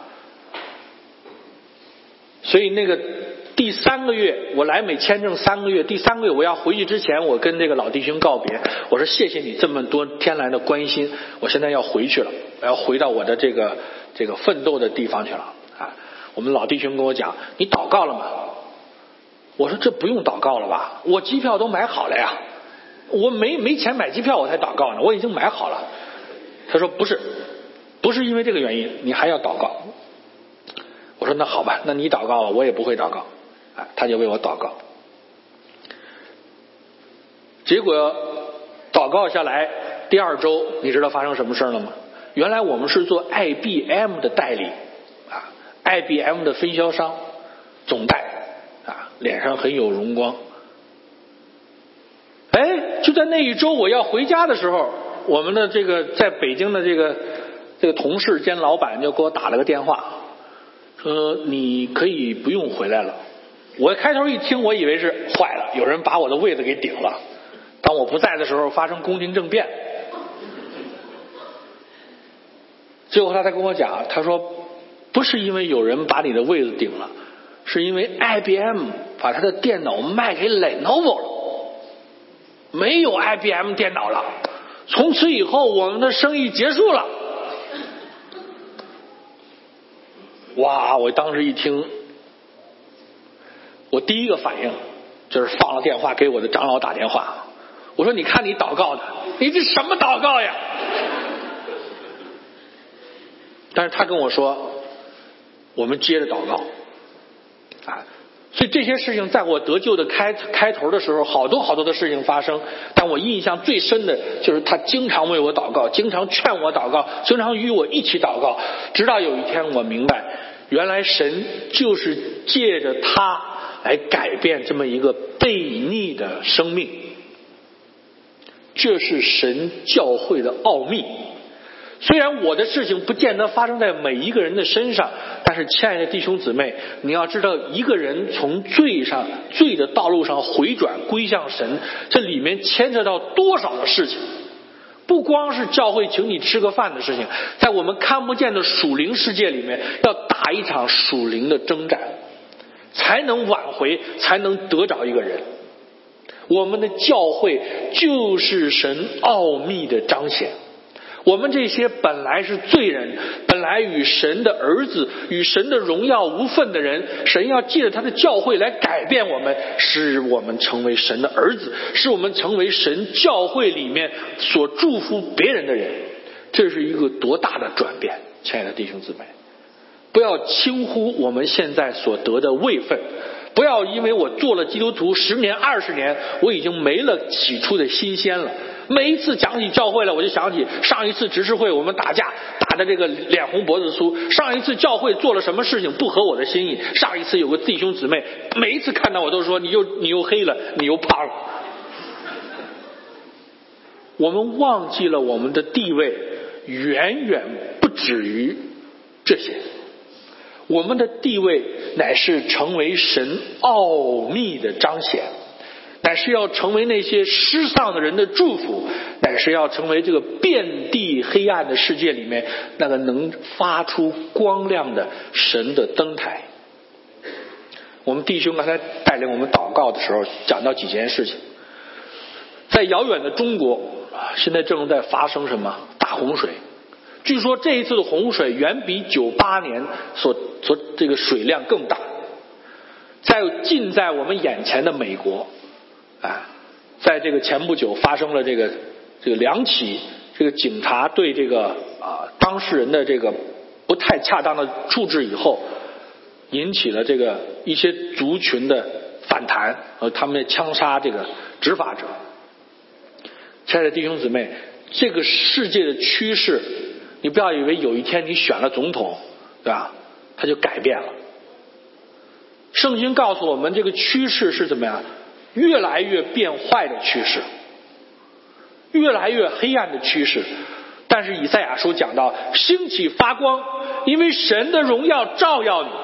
所以那个第三个月，我来美签证三个月，第三个月我要回去之前，我跟这个老弟兄告别，我说谢谢你这么多天来的关心，我现在要回去了，我要回到我的这个这个奋斗的地方去了啊。我们老弟兄跟我讲，你祷告了吗？我说这不用祷告了吧，我机票都买好了呀，我没没钱买机票我才祷告呢，我已经买好了。他说不是，不是因为这个原因，你还要祷告。我说那好吧，那你祷告了，我也不会祷告，啊，他就为我祷告。结果祷告下来，第二周你知道发生什么事了吗？原来我们是做 I B M 的代理啊 ，I B M 的分销商总代啊，脸上很有荣光。哎，就在那一周我要回家的时候，我们的这个在北京的这个这个同事兼老板就给我打了个电话。说你可以不用回来了。我开头一听，我以为是坏了，有人把我的位子给顶了。当我不在的时候，发生宫廷政变。最后他才跟我讲，他说不是因为有人把你的位子顶了，是因为 I B M 把他的电脑卖给 Lenovo 了，没有 I B M 电脑了，从此以后我们的生意结束了。哇！我当时一听，我第一个反应就是放了电话给我的长老打电话，我说你看你祷告的，你这什么祷告呀？但是他跟我说我们接着祷告啊，所以这些事情在我得救的开开头的时候，好多好多的事情发生，但我印象最深的就是他经常为我祷告，经常劝我祷告，经常与我一起祷告，直到有一天我明白，原来神就是借着他来改变这么一个悖逆的生命，这是神教会的奥秘。 虽然我的事情不见得发生在每一个人的身上，但是亲爱的弟兄姊妹，你要知道，一个人从罪上罪的道路上回转归向神，这里面牵扯到多少的事情。不光是教会请你吃个饭的事情，在我们看不见的属灵世界里面，要打一场属灵的征战，才能挽回，才能得着一个人。我们的教会就是神奥秘的彰显。我们这些本来是罪人，本来与神的儿子与神的荣耀无分的人，神要借着他的教会来改变我们，使我们成为神的儿子，使我们成为神教会里面所祝福别人的人。这是一个多大的转变，亲爱的弟兄姊妹，不要轻忽我们现在所得的位分，不要因为我做了基督徒十年二十年，我已经没了起初的新鲜了。每一次讲起教会了，我就想起上一次执事会我们打架打的这个脸红脖子粗，上一次教会做了什么事情不合我的心意，上一次有个弟兄姊妹每一次看到我都说你又你又黑了，你又胖了。我们忘记了我们的地位远远不止于这些，我们的地位乃是成为神奥秘的彰显，乃是要成为那些失丧的人的祝福，乃是要成为这个遍地黑暗的世界里面那个能发出光亮的神的灯台。我们弟兄刚才带领我们祷告的时候讲到几件事情，在遥远的中国现在正在发生什么大洪水，据说这一次的洪水远比九八年所所这个水量更大。在近在我们眼前的美国啊，在这个前不久发生了这个这个两起这个警察对这个啊当事人的这个不太恰当的处置以后，引起了这个一些族群的反弹，和他们枪杀这个执法者。亲爱的弟兄姊妹，这个世界的趋势，你不要以为有一天你选了总统，对吧，它就改变了。圣经告诉我们，这个趋势是怎么样？越来越变坏的趋势，越来越黑暗的趋势。但是以赛亚书讲到，兴起发光，因为神的荣耀照耀你。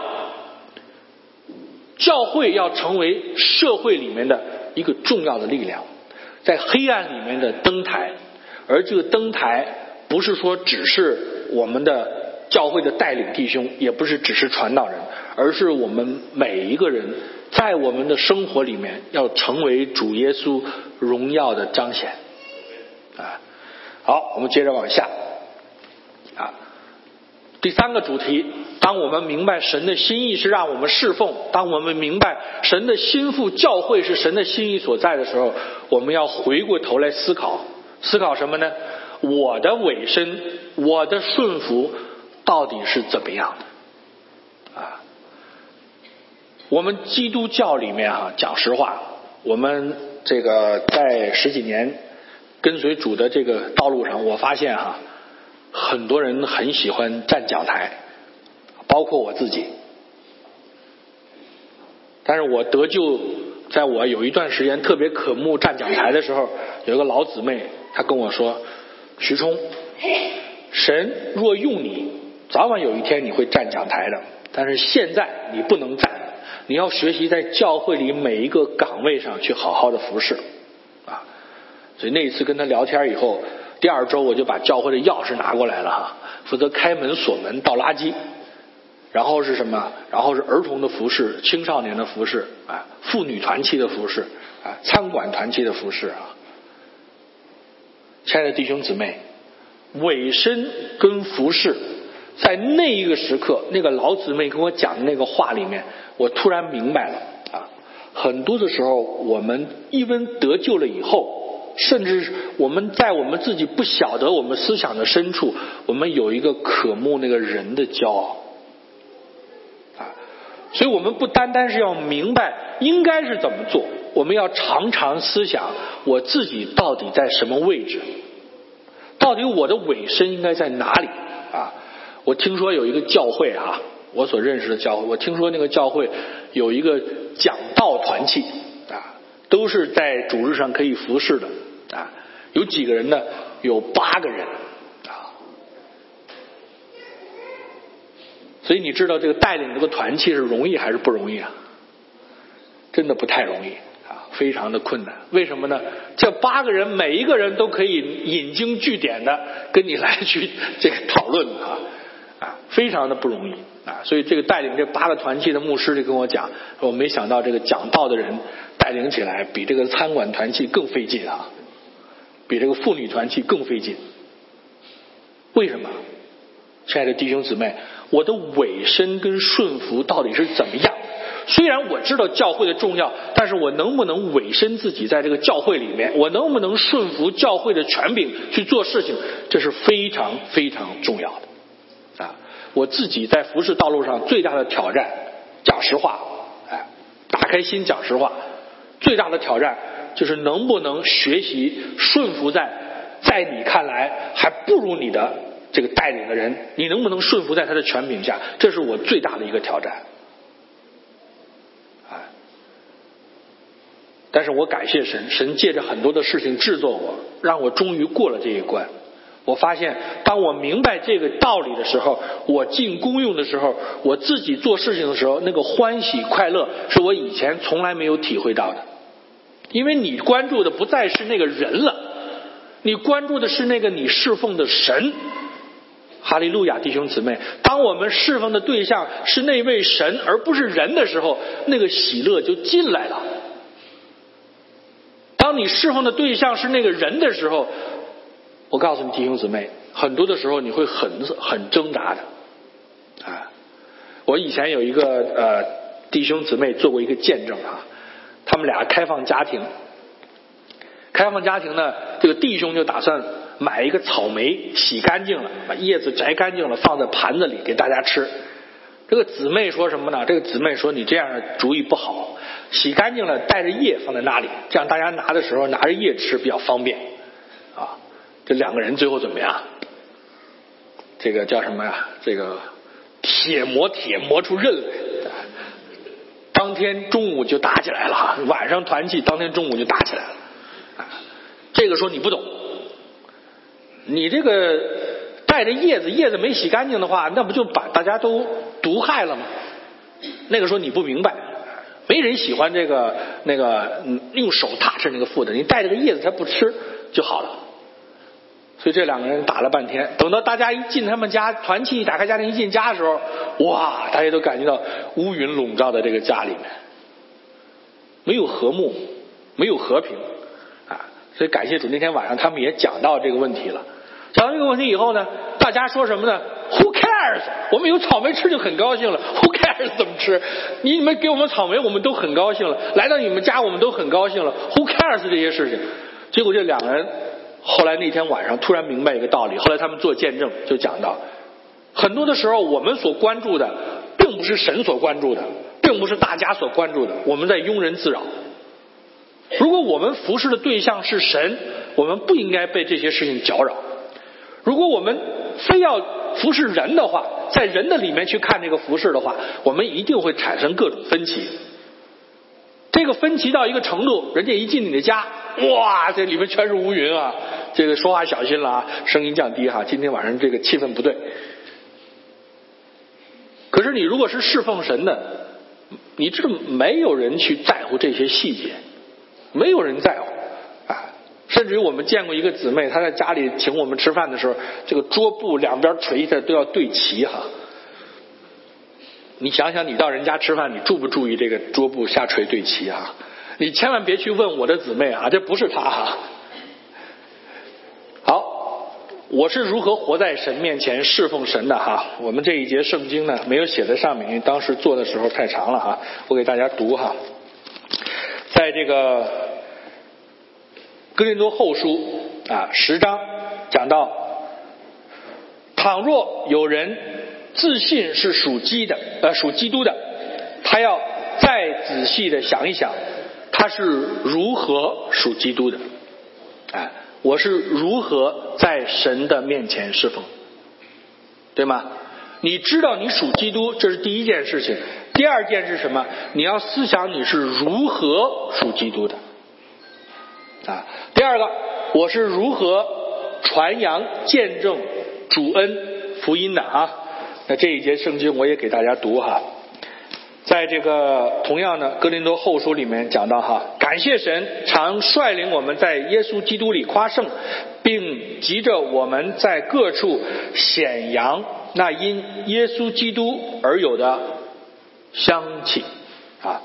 教会要成为社会里面的一个重要的力量，在黑暗里面的灯台。而这个灯台不是说只是我们的教会的带领弟兄，也不是只是传道人，而是我们每一个人在我们的生活里面要成为主耶稣荣耀的彰显啊。好，我们接着往下啊。第三个主题，当我们明白神的心意是让我们侍奉，当我们明白神的心腹教会是神的心意所在的时候，我们要回过头来思考思考什么呢？我的委身，我的顺服到底是怎么样的啊？我们基督教里面啊，讲实话，我们这个在十几年跟随主的这个道路上，我发现哈、啊，很多人很喜欢站讲台，包括我自己。但是我得救，在我有一段时间特别渴慕站讲台的时候，有一个老姊妹她跟我说，徐冲，神若用你，早晚有一天你会站讲台的，但是现在你不能站，你要学习在教会里每一个岗位上去好好的服侍啊。所以那一次跟他聊天以后，第二周我就把教会的钥匙拿过来了哈，负责开门锁门倒垃圾，然后是什么？然后是儿童的服侍，青少年的服侍啊，妇女团契的服侍啊，餐馆团契的服侍啊。亲爱的弟兄姊妹，委身跟服侍，在那一个时刻，那个老姊妹跟我讲的那个话里面，我突然明白了啊，很多的时候我们一温得救了以后，甚至我们在我们自己不晓得我们思想的深处，我们有一个渴慕那个人的骄傲啊，所以我们不单单是要明白应该是怎么做，我们要常常思想我自己到底在什么位置，到底我的委身应该在哪里啊？我听说有一个教会啊，我所认识的教会，我听说那个教会有一个讲道团契啊，都是在主日上可以服侍的啊。有几个人呢？有八个人啊。 所以你知道这个带领这个团契是容易还是不容易啊？真的不太容易啊，非常的困难。为什么呢？这八个人每一个人都可以引经据典的跟你来去这个讨论啊啊，非常的不容易啊。所以这个带领这八个团契的牧师就跟我讲，我没想到这个讲道的人带领起来比这个餐馆团契更费劲啊，比这个妇女团契更费劲。为什么？亲爱的弟兄姊妹，我的委身跟顺服到底是怎么样？虽然我知道教会的重要，但是我能不能委身自己在这个教会里面，我能不能顺服教会的权柄去做事情，这是非常非常重要的啊！我自己在服事道路上最大的挑战，讲实话，哎，打开心讲实话，最大的挑战就是能不能学习顺服在在你看来还不如你的这个带领的人，你能不能顺服在他的权柄下，这是我最大的一个挑战。但是我感谢神，神借着很多的事情制作我，让我终于过了这一关。我发现当我明白这个道理的时候，我进功用的时候，我自己做事情的时候，那个欢喜快乐是我以前从来没有体会到的。因为你关注的不再是那个人了，你关注的是那个你侍奉的神。哈利路亚，弟兄姊妹，当我们侍奉的对象是那位神而不是人的时候，那个喜乐就进来了。当你侍奉的对象是那个人的时候，我告诉你弟兄姊妹，很多的时候你会很很挣扎的啊！我以前有一个呃弟兄姊妹做过一个见证啊，他们俩开放家庭，开放家庭呢，这个弟兄就打算买一个草莓，洗干净了，把叶子摘干净了，放在盘子里给大家吃。这个姊妹说什么呢？这个姊妹说你这样的主意不好，洗干净了带着叶放在那里，这样大家拿的时候拿着叶吃比较方便啊。这两个人最后怎么样？这个叫什么呀？这个铁磨铁磨出刃来，当天中午就打起来了，晚上团契，当天中午就打起来了。这个说你不懂，你这个带着叶子，叶子没洗干净的话，那不就把大家都毒害了吗？那个说你不明白，没人喜欢这个那个用手踏吃那个副的，你带着个叶子他不吃就好了。所以这两个人打了半天，等到大家一进他们家，团契一打开家庭一进家的时候，哇，大家都感觉到乌云笼罩在这个家里面，没有和睦，没有和平啊！所以感谢主，那天晚上他们也讲到这个问题了。讲到这个问题以后呢，大家说什么呢 ？Who cares？ 我们有草莓吃就很高兴了。Who cares 怎么吃？你们给我们草莓，我们都很高兴了。来到你们家，我们都很高兴了。Who cares 这些事情？结果这两个人后来那天晚上突然明白一个道理。后来他们做见证就讲到，很多的时候我们所关注的，并不是神所关注的，并不是大家所关注的，我们在庸人自扰。如果我们服侍的对象是神，我们不应该被这些事情搅扰。如果我们非要服侍人的话，在人的里面去看这个服侍的话，我们一定会产生各种分歧。这个分歧到一个程度，人家一进你的家，哇，这里面全是乌云啊！这个说话小心了啊，声音降低哈，今天晚上这个气氛不对。可是你如果是侍奉神的，你知道没有人去在乎这些细节，没有人在乎。甚至于我们见过一个姊妹，她在家里请我们吃饭的时候，这个桌布两边垂的都要对齐哈。你想想，你到人家吃饭，你注不注意这个桌布下垂对齐哈？你千万别去问我的姊妹啊，这不是她哈。好，我是如何活在神面前侍奉神的哈？我们这一节圣经呢没有写在上面，因为当时做的时候太长了哈，我给大家读哈，在这个哥林多后书啊十章讲到，倘若有人自信是属基的呃属基督的，他要再仔细的想一想，他是如何属基督的。哎，我是如何在神的面前侍奉，对吗？你知道你属基督，这是第一件事情。第二件是什么？你要思想你是如何属基督的。啊，第二个，我是如何传扬见证主恩福音的啊？ 那这一节圣经我也给大家读哈。在这个同样的哥林多后书里面讲到哈，感谢神常率领我们在耶稣基督里夸胜，并急着我们在各处显扬那因耶稣基督而有的香气啊。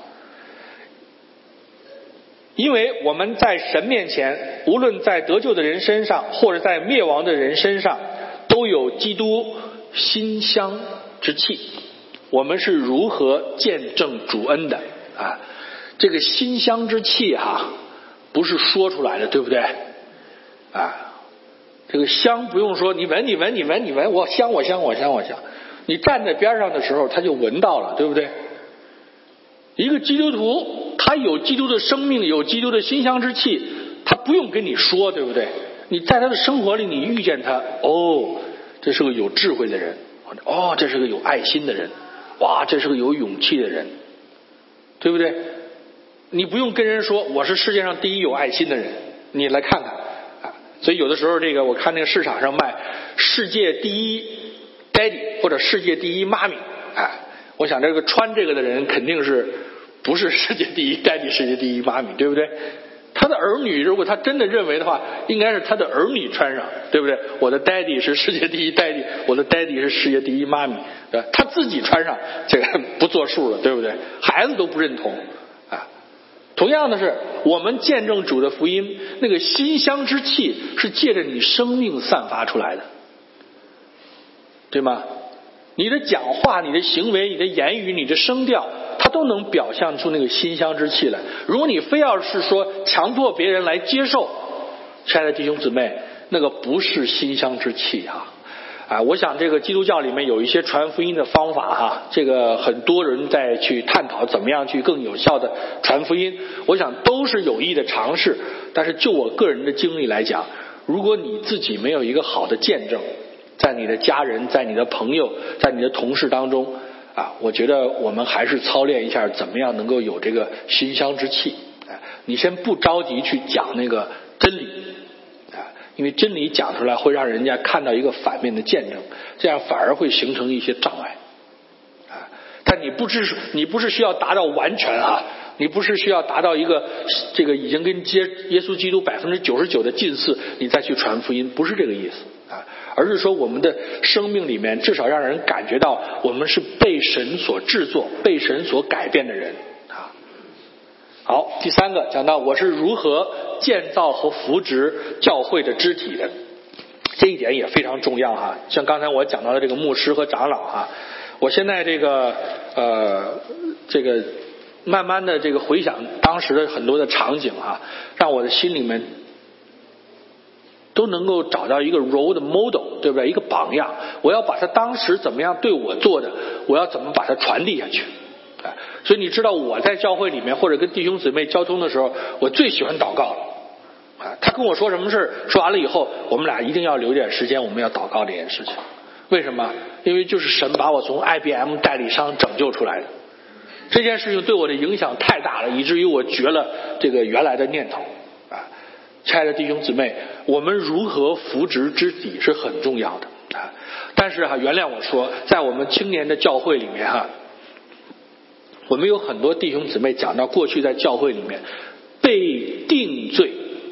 因为我们在神面前，无论在得救的人身上或者在灭亡的人身上，都有基督馨香之气。我们是如何见证主恩的啊？这个馨香之气哈、啊，不是说出来的，对不对？啊，这个香不用说，你闻你闻你闻你闻，我香我香我香我香。你站在边上的时候，他就闻到了，对不对？一个基督徒，他有基督的生命，有基督的馨香之气，他不用跟你说，对不对？你在他的生活里，你遇见他，哦，这是个有智慧的人，哦，这是个有爱心的人。哇，这是个有勇气的人，对不对？你不用跟人说我是世界上第一有爱心的人，你来看看啊。所以有的时候这个我看那个市场上卖世界第一 daddy 或者世界第一妈咪啊，我想这个穿这个的人肯定是不是世界第一 daddy 世界第一妈咪，对不对？他的儿女如果他真的认为的话，应该是他的儿女穿上，对不对？我的 daddy 是世界第一 daddy， 我的 daddy 是世界第一妈咪，对吧？他自己穿上这个不作数了，对不对？孩子都不认同啊。同样的是，我们见证主的福音，那个馨香之气是借着你生命散发出来的，对吗？你的讲话、你的行为、你的言语、你的声调，它都能表现出那个馨香之气来。如果你非要是说强迫别人来接受，亲爱的弟兄姊妹，那个不是馨香之气啊！啊，我想这个基督教里面有一些传福音的方法哈，这个很多人在去探讨怎么样去更有效的传福音，我想都是有益的尝试。但是就我个人的经历来讲，如果你自己没有一个好的见证，在你的家人、在你的朋友、在你的同事当中啊，我觉得我们还是操练一下怎么样能够有这个馨香之气。啊，你先不着急去讲那个真理啊，因为真理讲出来会让人家看到一个反面的见证，这样反而会形成一些障碍啊。但你不是你不是需要达到完全啊，你不是需要达到一个这个已经跟接耶稣基督百分之九十九的近似，你再去传福音，不是这个意思啊，而是说我们的生命里面至少让人感觉到我们是被神所制作、被神所改变的人啊。好，第三个讲到我是如何建造和扶植教会的肢体的，这一点也非常重要哈。像刚才我讲到的这个牧师和长老哈，我现在这个呃这个慢慢的这个回想当时的很多的场景哈，让我的心里面都能够找到一个 role model， 对不对？一个榜样，我要把他当时怎么样对我做的，我要怎么把它传递下去。所以你知道我在教会里面或者跟弟兄姊妹交通的时候，我最喜欢祷告了啊。他跟我说什么事，说完了以后，我们俩一定要留点时间，我们要祷告这件事情。为什么？因为就是神把我从 I B M 代理商拯救出来的。这件事情对我的影响太大了，以至于我绝了这个原来的念头啊。亲爱的弟兄姊妹，我们如何扶植肢体是很重要的啊。但是哈，原谅我说，在我们青年的教会里面哈，我们有很多弟兄姊妹讲到过去在教会里面被定罪。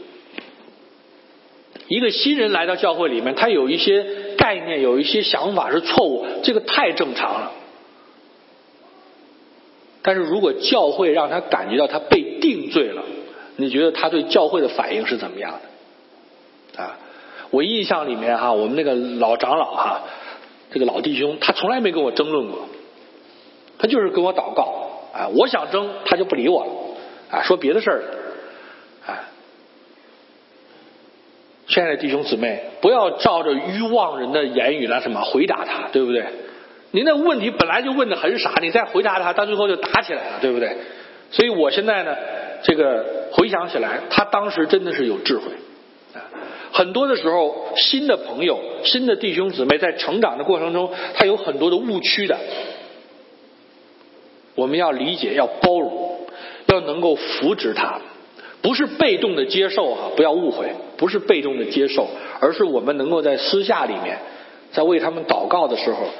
一个新人来到教会里面，他有一些概念，有一些想法是错误，这个太正常了。但是如果教会让他感觉到他被定罪了，你觉得他对教会的反应是怎么样的啊？我印象里面哈，我们那个老长老哈，这个老弟兄，他从来没跟我争论过，他就是跟我祷告啊，我想争他就不理我了啊，说别的事儿啊。亲爱的弟兄姊妹，不要照着愚妄人的言语来什么回答他，对不对？你那问题本来就问得很傻，你再回答他，到最后就打起来了，对不对？所以我现在呢，这个回想起来，他当时真的是有智慧啊。很多的时候，新的朋友、新的弟兄姊妹在成长的过程中，他有很多的误区的。我们要理解，要包容，要能够扶植他，不是被动的接受哈，不要误会，不是被动的接受，而是我们能够在私下里面，在为他们祷告的时候，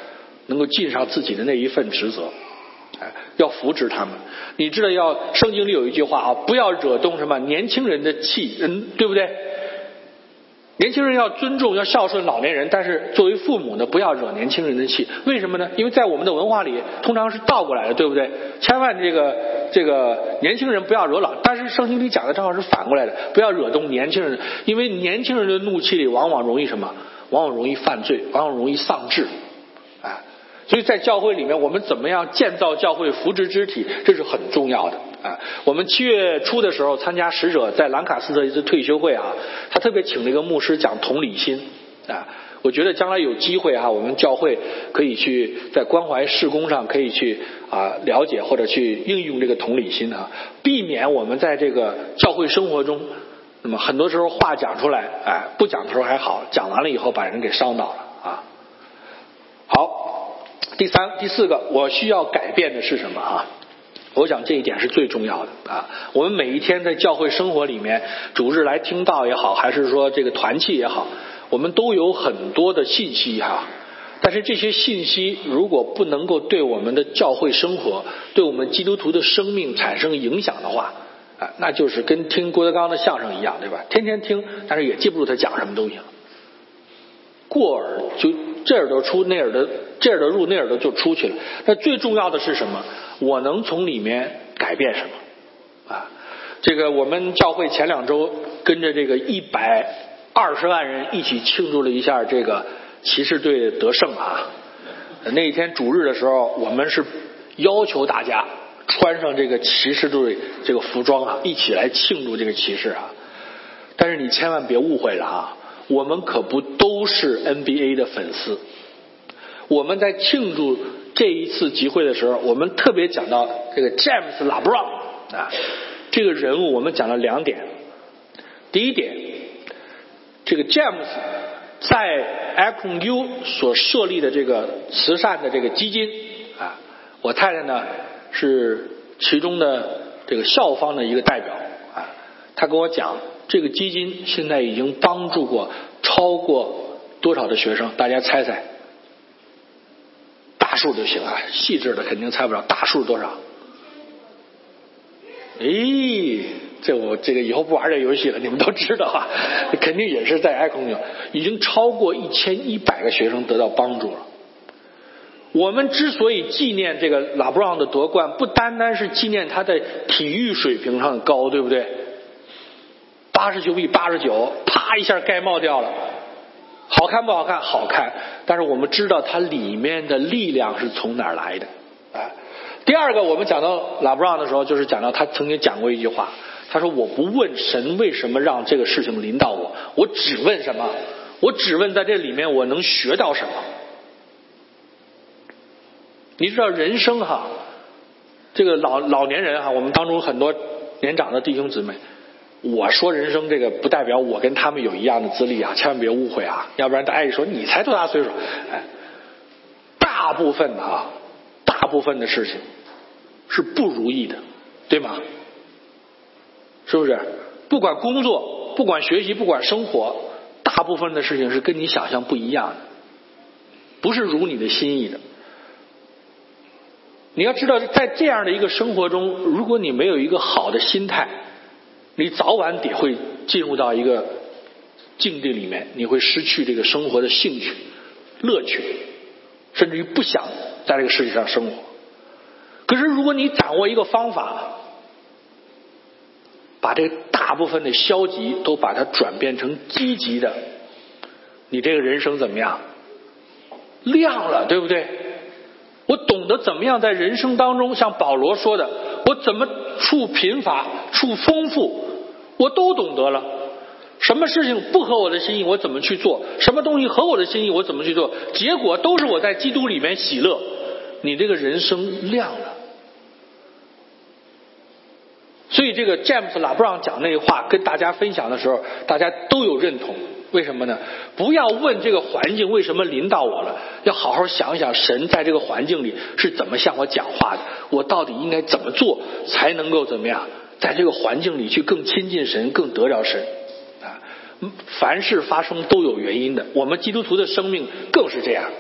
能够尽上自己的那一份职责，哎，要扶持他们。你知道要圣经里有一句话啊，不要惹动什么年轻人的气，嗯，对不对？年轻人要尊重要孝顺老年人，但是作为父母呢，不要惹年轻人的气。为什么呢？因为在我们的文化里通常是倒过来的，对不对？千万这个这个年轻人不要惹老，但是圣经里讲的正好是反过来的，不要惹动年轻人，因为年轻人的怒气里往往容易什么？往往容易犯罪，往往容易丧志，啊，所以在教会里面，我们怎么样建造教会、扶植肢体，这是很重要的啊。我们七月初的时候参加使者在兰卡斯特一次退休会啊，他特别请了一个牧师讲同理心啊。我觉得将来有机会哈、啊，我们教会可以去在关怀事工上可以去啊了解或者去应用这个同理心啊，避免我们在这个教会生活中。那么很多时候话讲出来，哎，不讲的时候还好，讲完了以后把人给伤到了啊。好，第三、第四个，我需要改变的是什么啊？我想这一点是最重要的啊。我们每一天在教会生活里面，主日来听道也好，还是说这个团契也好，我们都有很多的信息哈、啊。但是这些信息如果不能够对我们的教会生活，对我们基督徒的生命产生影响的话，啊，那就是跟听郭德纲的相声一样，对吧？天天听，但是也记不住他讲什么东西了。过耳就这耳朵出，那耳朵这耳朵入，那耳朵就出去了。那最重要的是什么？我能从里面改变什么？啊，这个我们教会前两周跟着这个一百二十万人一起庆祝了一下这个骑士队得胜啊。那一天主日的时候，我们是要求大家穿上这个骑士队这个服装啊，一起来庆祝这个骑士啊。但是你千万别误会了啊，我们可不都是 N B A 的粉丝。我们在庆祝这一次集会的时候，我们特别讲到这个 James LeBron 啊，这个人物我们讲了两点。第一点，这个 James 在 Akron U 所设立的这个慈善的这个基金啊，我太太呢是其中的这个校方的一个代表啊，他跟我讲，这个基金现在已经帮助过超过多少的学生？大家猜猜？大数就行啊，细致的肯定猜不着。大数多少？诶，这我这个以后不玩这游戏了，你们都知道啊，肯定也是在爱空牛，已经超过一千一百个学生得到帮助了。我们之所以纪念这个拉布朗的夺冠，不单单是纪念他在体育水平上高，对不对？八十九比八十九，啪一下盖帽掉了，好看不好看？好看。但是我们知道它里面的力量是从哪儿来的啊？第二个，我们讲到拉布朗的时候，就是讲到他曾经讲过一句话，他说：“我不问神为什么让这个事情临到我，我只问什么？我只问在这里面我能学到什么。”你知道人生哈，这个老老年人哈，我们当中很多年长的弟兄姊妹，我说人生这个不代表我跟他们有一样的资历啊，千万别误会啊，要不然大家一说你才多大岁数？哎，大部分的啊，大部分的事情是不如意的，对吗？是不是？不管工作，不管学习，不管生活，大部分的事情是跟你想象不一样的，不是如你的心意的。你要知道，在这样的一个生活中，如果你没有一个好的心态，你早晚得会进入到一个境地里面，你会失去这个生活的兴趣、乐趣，甚至于不想在这个世界上生活。可是如果你掌握一个方法，把这大部分的消极都把它转变成积极的，你这个人生怎么样？亮了，对不对？我懂得怎么样在人生当中，像保罗说的，我怎么处贫乏，处丰富，我都懂得了。什么事情不合我的心意，我怎么去做？什么东西合我的心意，我怎么去做？结果都是我在基督里面喜乐。你这个人生亮了。所以这个詹姆斯拉布朗讲那个话跟大家分享的时候，大家都有认同。为什么呢？不要问这个环境为什么临到我了，要好好想想神在这个环境里是怎么向我讲话的，我到底应该怎么做才能够怎么样在这个环境里去更亲近神，更得着神啊！凡事发生都有原因的，我们基督徒的生命更是这样。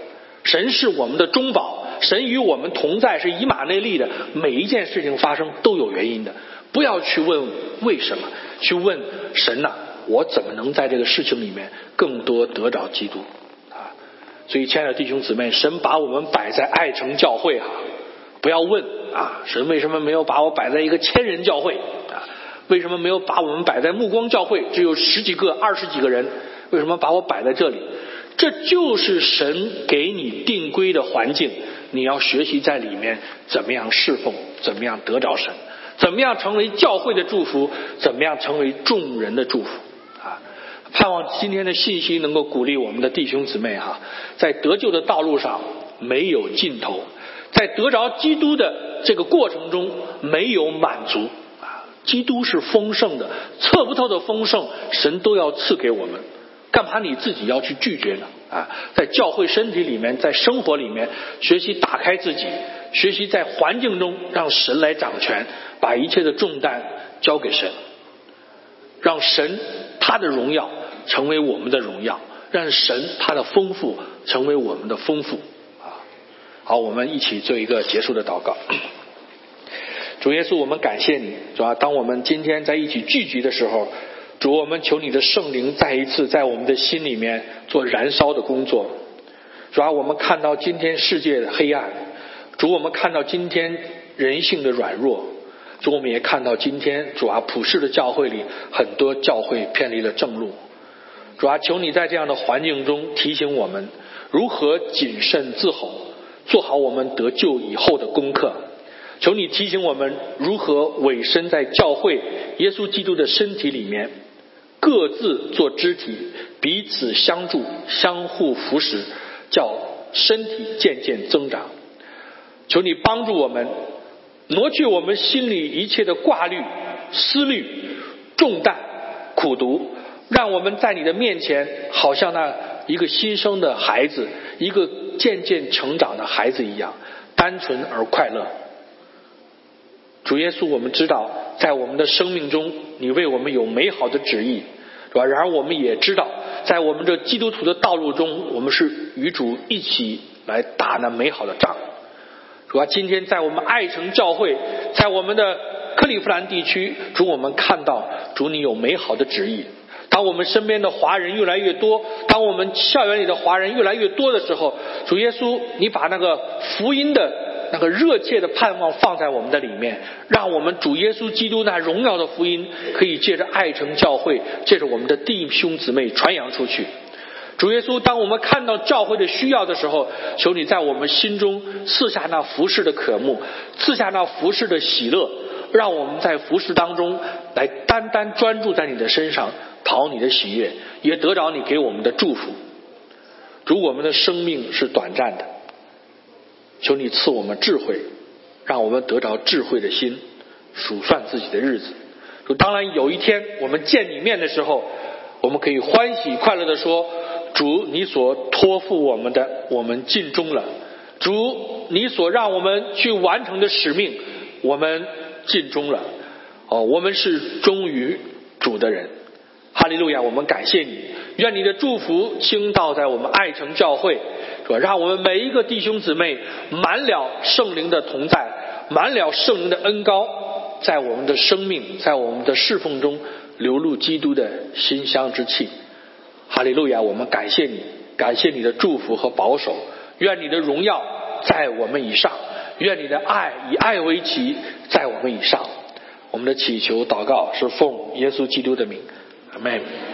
神是我们的中保，神与我们同在，是以马内利的。每一件事情发生都有原因的，不要去问为什么，去问神呐、啊，我怎么能在这个事情里面更多得着基督啊？所以亲爱的弟兄姊妹，神把我们摆在爱城教会啊，不要问啊，神为什么没有把我摆在一个千人教会啊？为什么没有把我们摆在目光教会，只有十几个二十几个人，为什么把我摆在这里？这就是神给你定规的环境，你要学习在里面怎么样侍奉，怎么样得着神，怎么样成为教会的祝福，怎么样成为众人的祝福啊！盼望今天的信息能够鼓励我们的弟兄姊妹哈，在得救的道路上没有尽头，在得着基督的这个过程中没有满足啊！基督是丰盛的，测不透的丰盛，神都要赐给我们。干嘛你自己要去拒绝呢？啊，在教会身体里面，在生活里面学习打开自己，学习在环境中让神来掌权，把一切的重担交给神，让神他的荣耀成为我们的荣耀，让神他的丰富成为我们的丰富啊！好，我们一起做一个结束的祷告。主耶稣，我们感谢你，主啊，当我们今天在一起聚集的时候，主，我们求你的圣灵再一次在我们的心里面做燃烧的工作。主啊，我们看到今天世界的黑暗，主，我们看到今天人性的软弱，主，我们也看到今天主啊普世的教会里很多教会偏离了正路。主啊，求你在这样的环境中提醒我们如何谨慎自守，做好我们得救以后的功课。求你提醒我们如何委身在教会耶稣基督的身体里面，各自做肢体，彼此相助，相互扶持，叫身体渐渐增长。求你帮助我们，挪去我们心里一切的挂虑、思虑、重担、苦毒，让我们在你的面前好像那一个新生的孩子，一个渐渐成长的孩子一样，单纯而快乐。主耶稣，我们知道在我们的生命中你为我们有美好的旨意，是吧？然而我们也知道在我们这基督徒的道路中，我们是与主一起来打那美好的仗。主啊，今天在我们爱城教会，在我们的克利夫兰地区，主，我们看到主你有美好的旨意。当我们身边的华人越来越多，当我们校园里的华人越来越多的时候，主耶稣，你把那个福音的那个热切的盼望放在我们的里面，让我们主耶稣基督那荣耀的福音可以借着爱城教会，借着我们的弟兄姊妹传扬出去。主耶稣，当我们看到教会的需要的时候，求你在我们心中赐下那服事的渴慕，赐下那服事的喜乐，让我们在服事当中来单单专注在你的身上，讨你的喜悦，也得着你给我们的祝福。主，我们的生命是短暂的，求你赐我们智慧，让我们得着智慧的心，数算自己的日子。主，当然有一天我们见你面的时候，我们可以欢喜快乐地说，主，你所托付我们的我们尽忠了，主，你所让我们去完成的使命我们尽忠了，哦，我们是忠于主的人。哈利路亚，我们感谢你，愿你的祝福倾倒在我们爱城教会，让我们每一个弟兄姊妹满了圣灵的同在，满了圣灵的恩膏，在我们的生命，在我们的侍奉中流露基督的馨香之气。哈利路亚，我们感谢你，感谢你的祝福和保守，愿你的荣耀在我们以上，愿你的爱以爱为旗在我们以上。我们的祈求祷告是奉耶稣基督的名，阿们。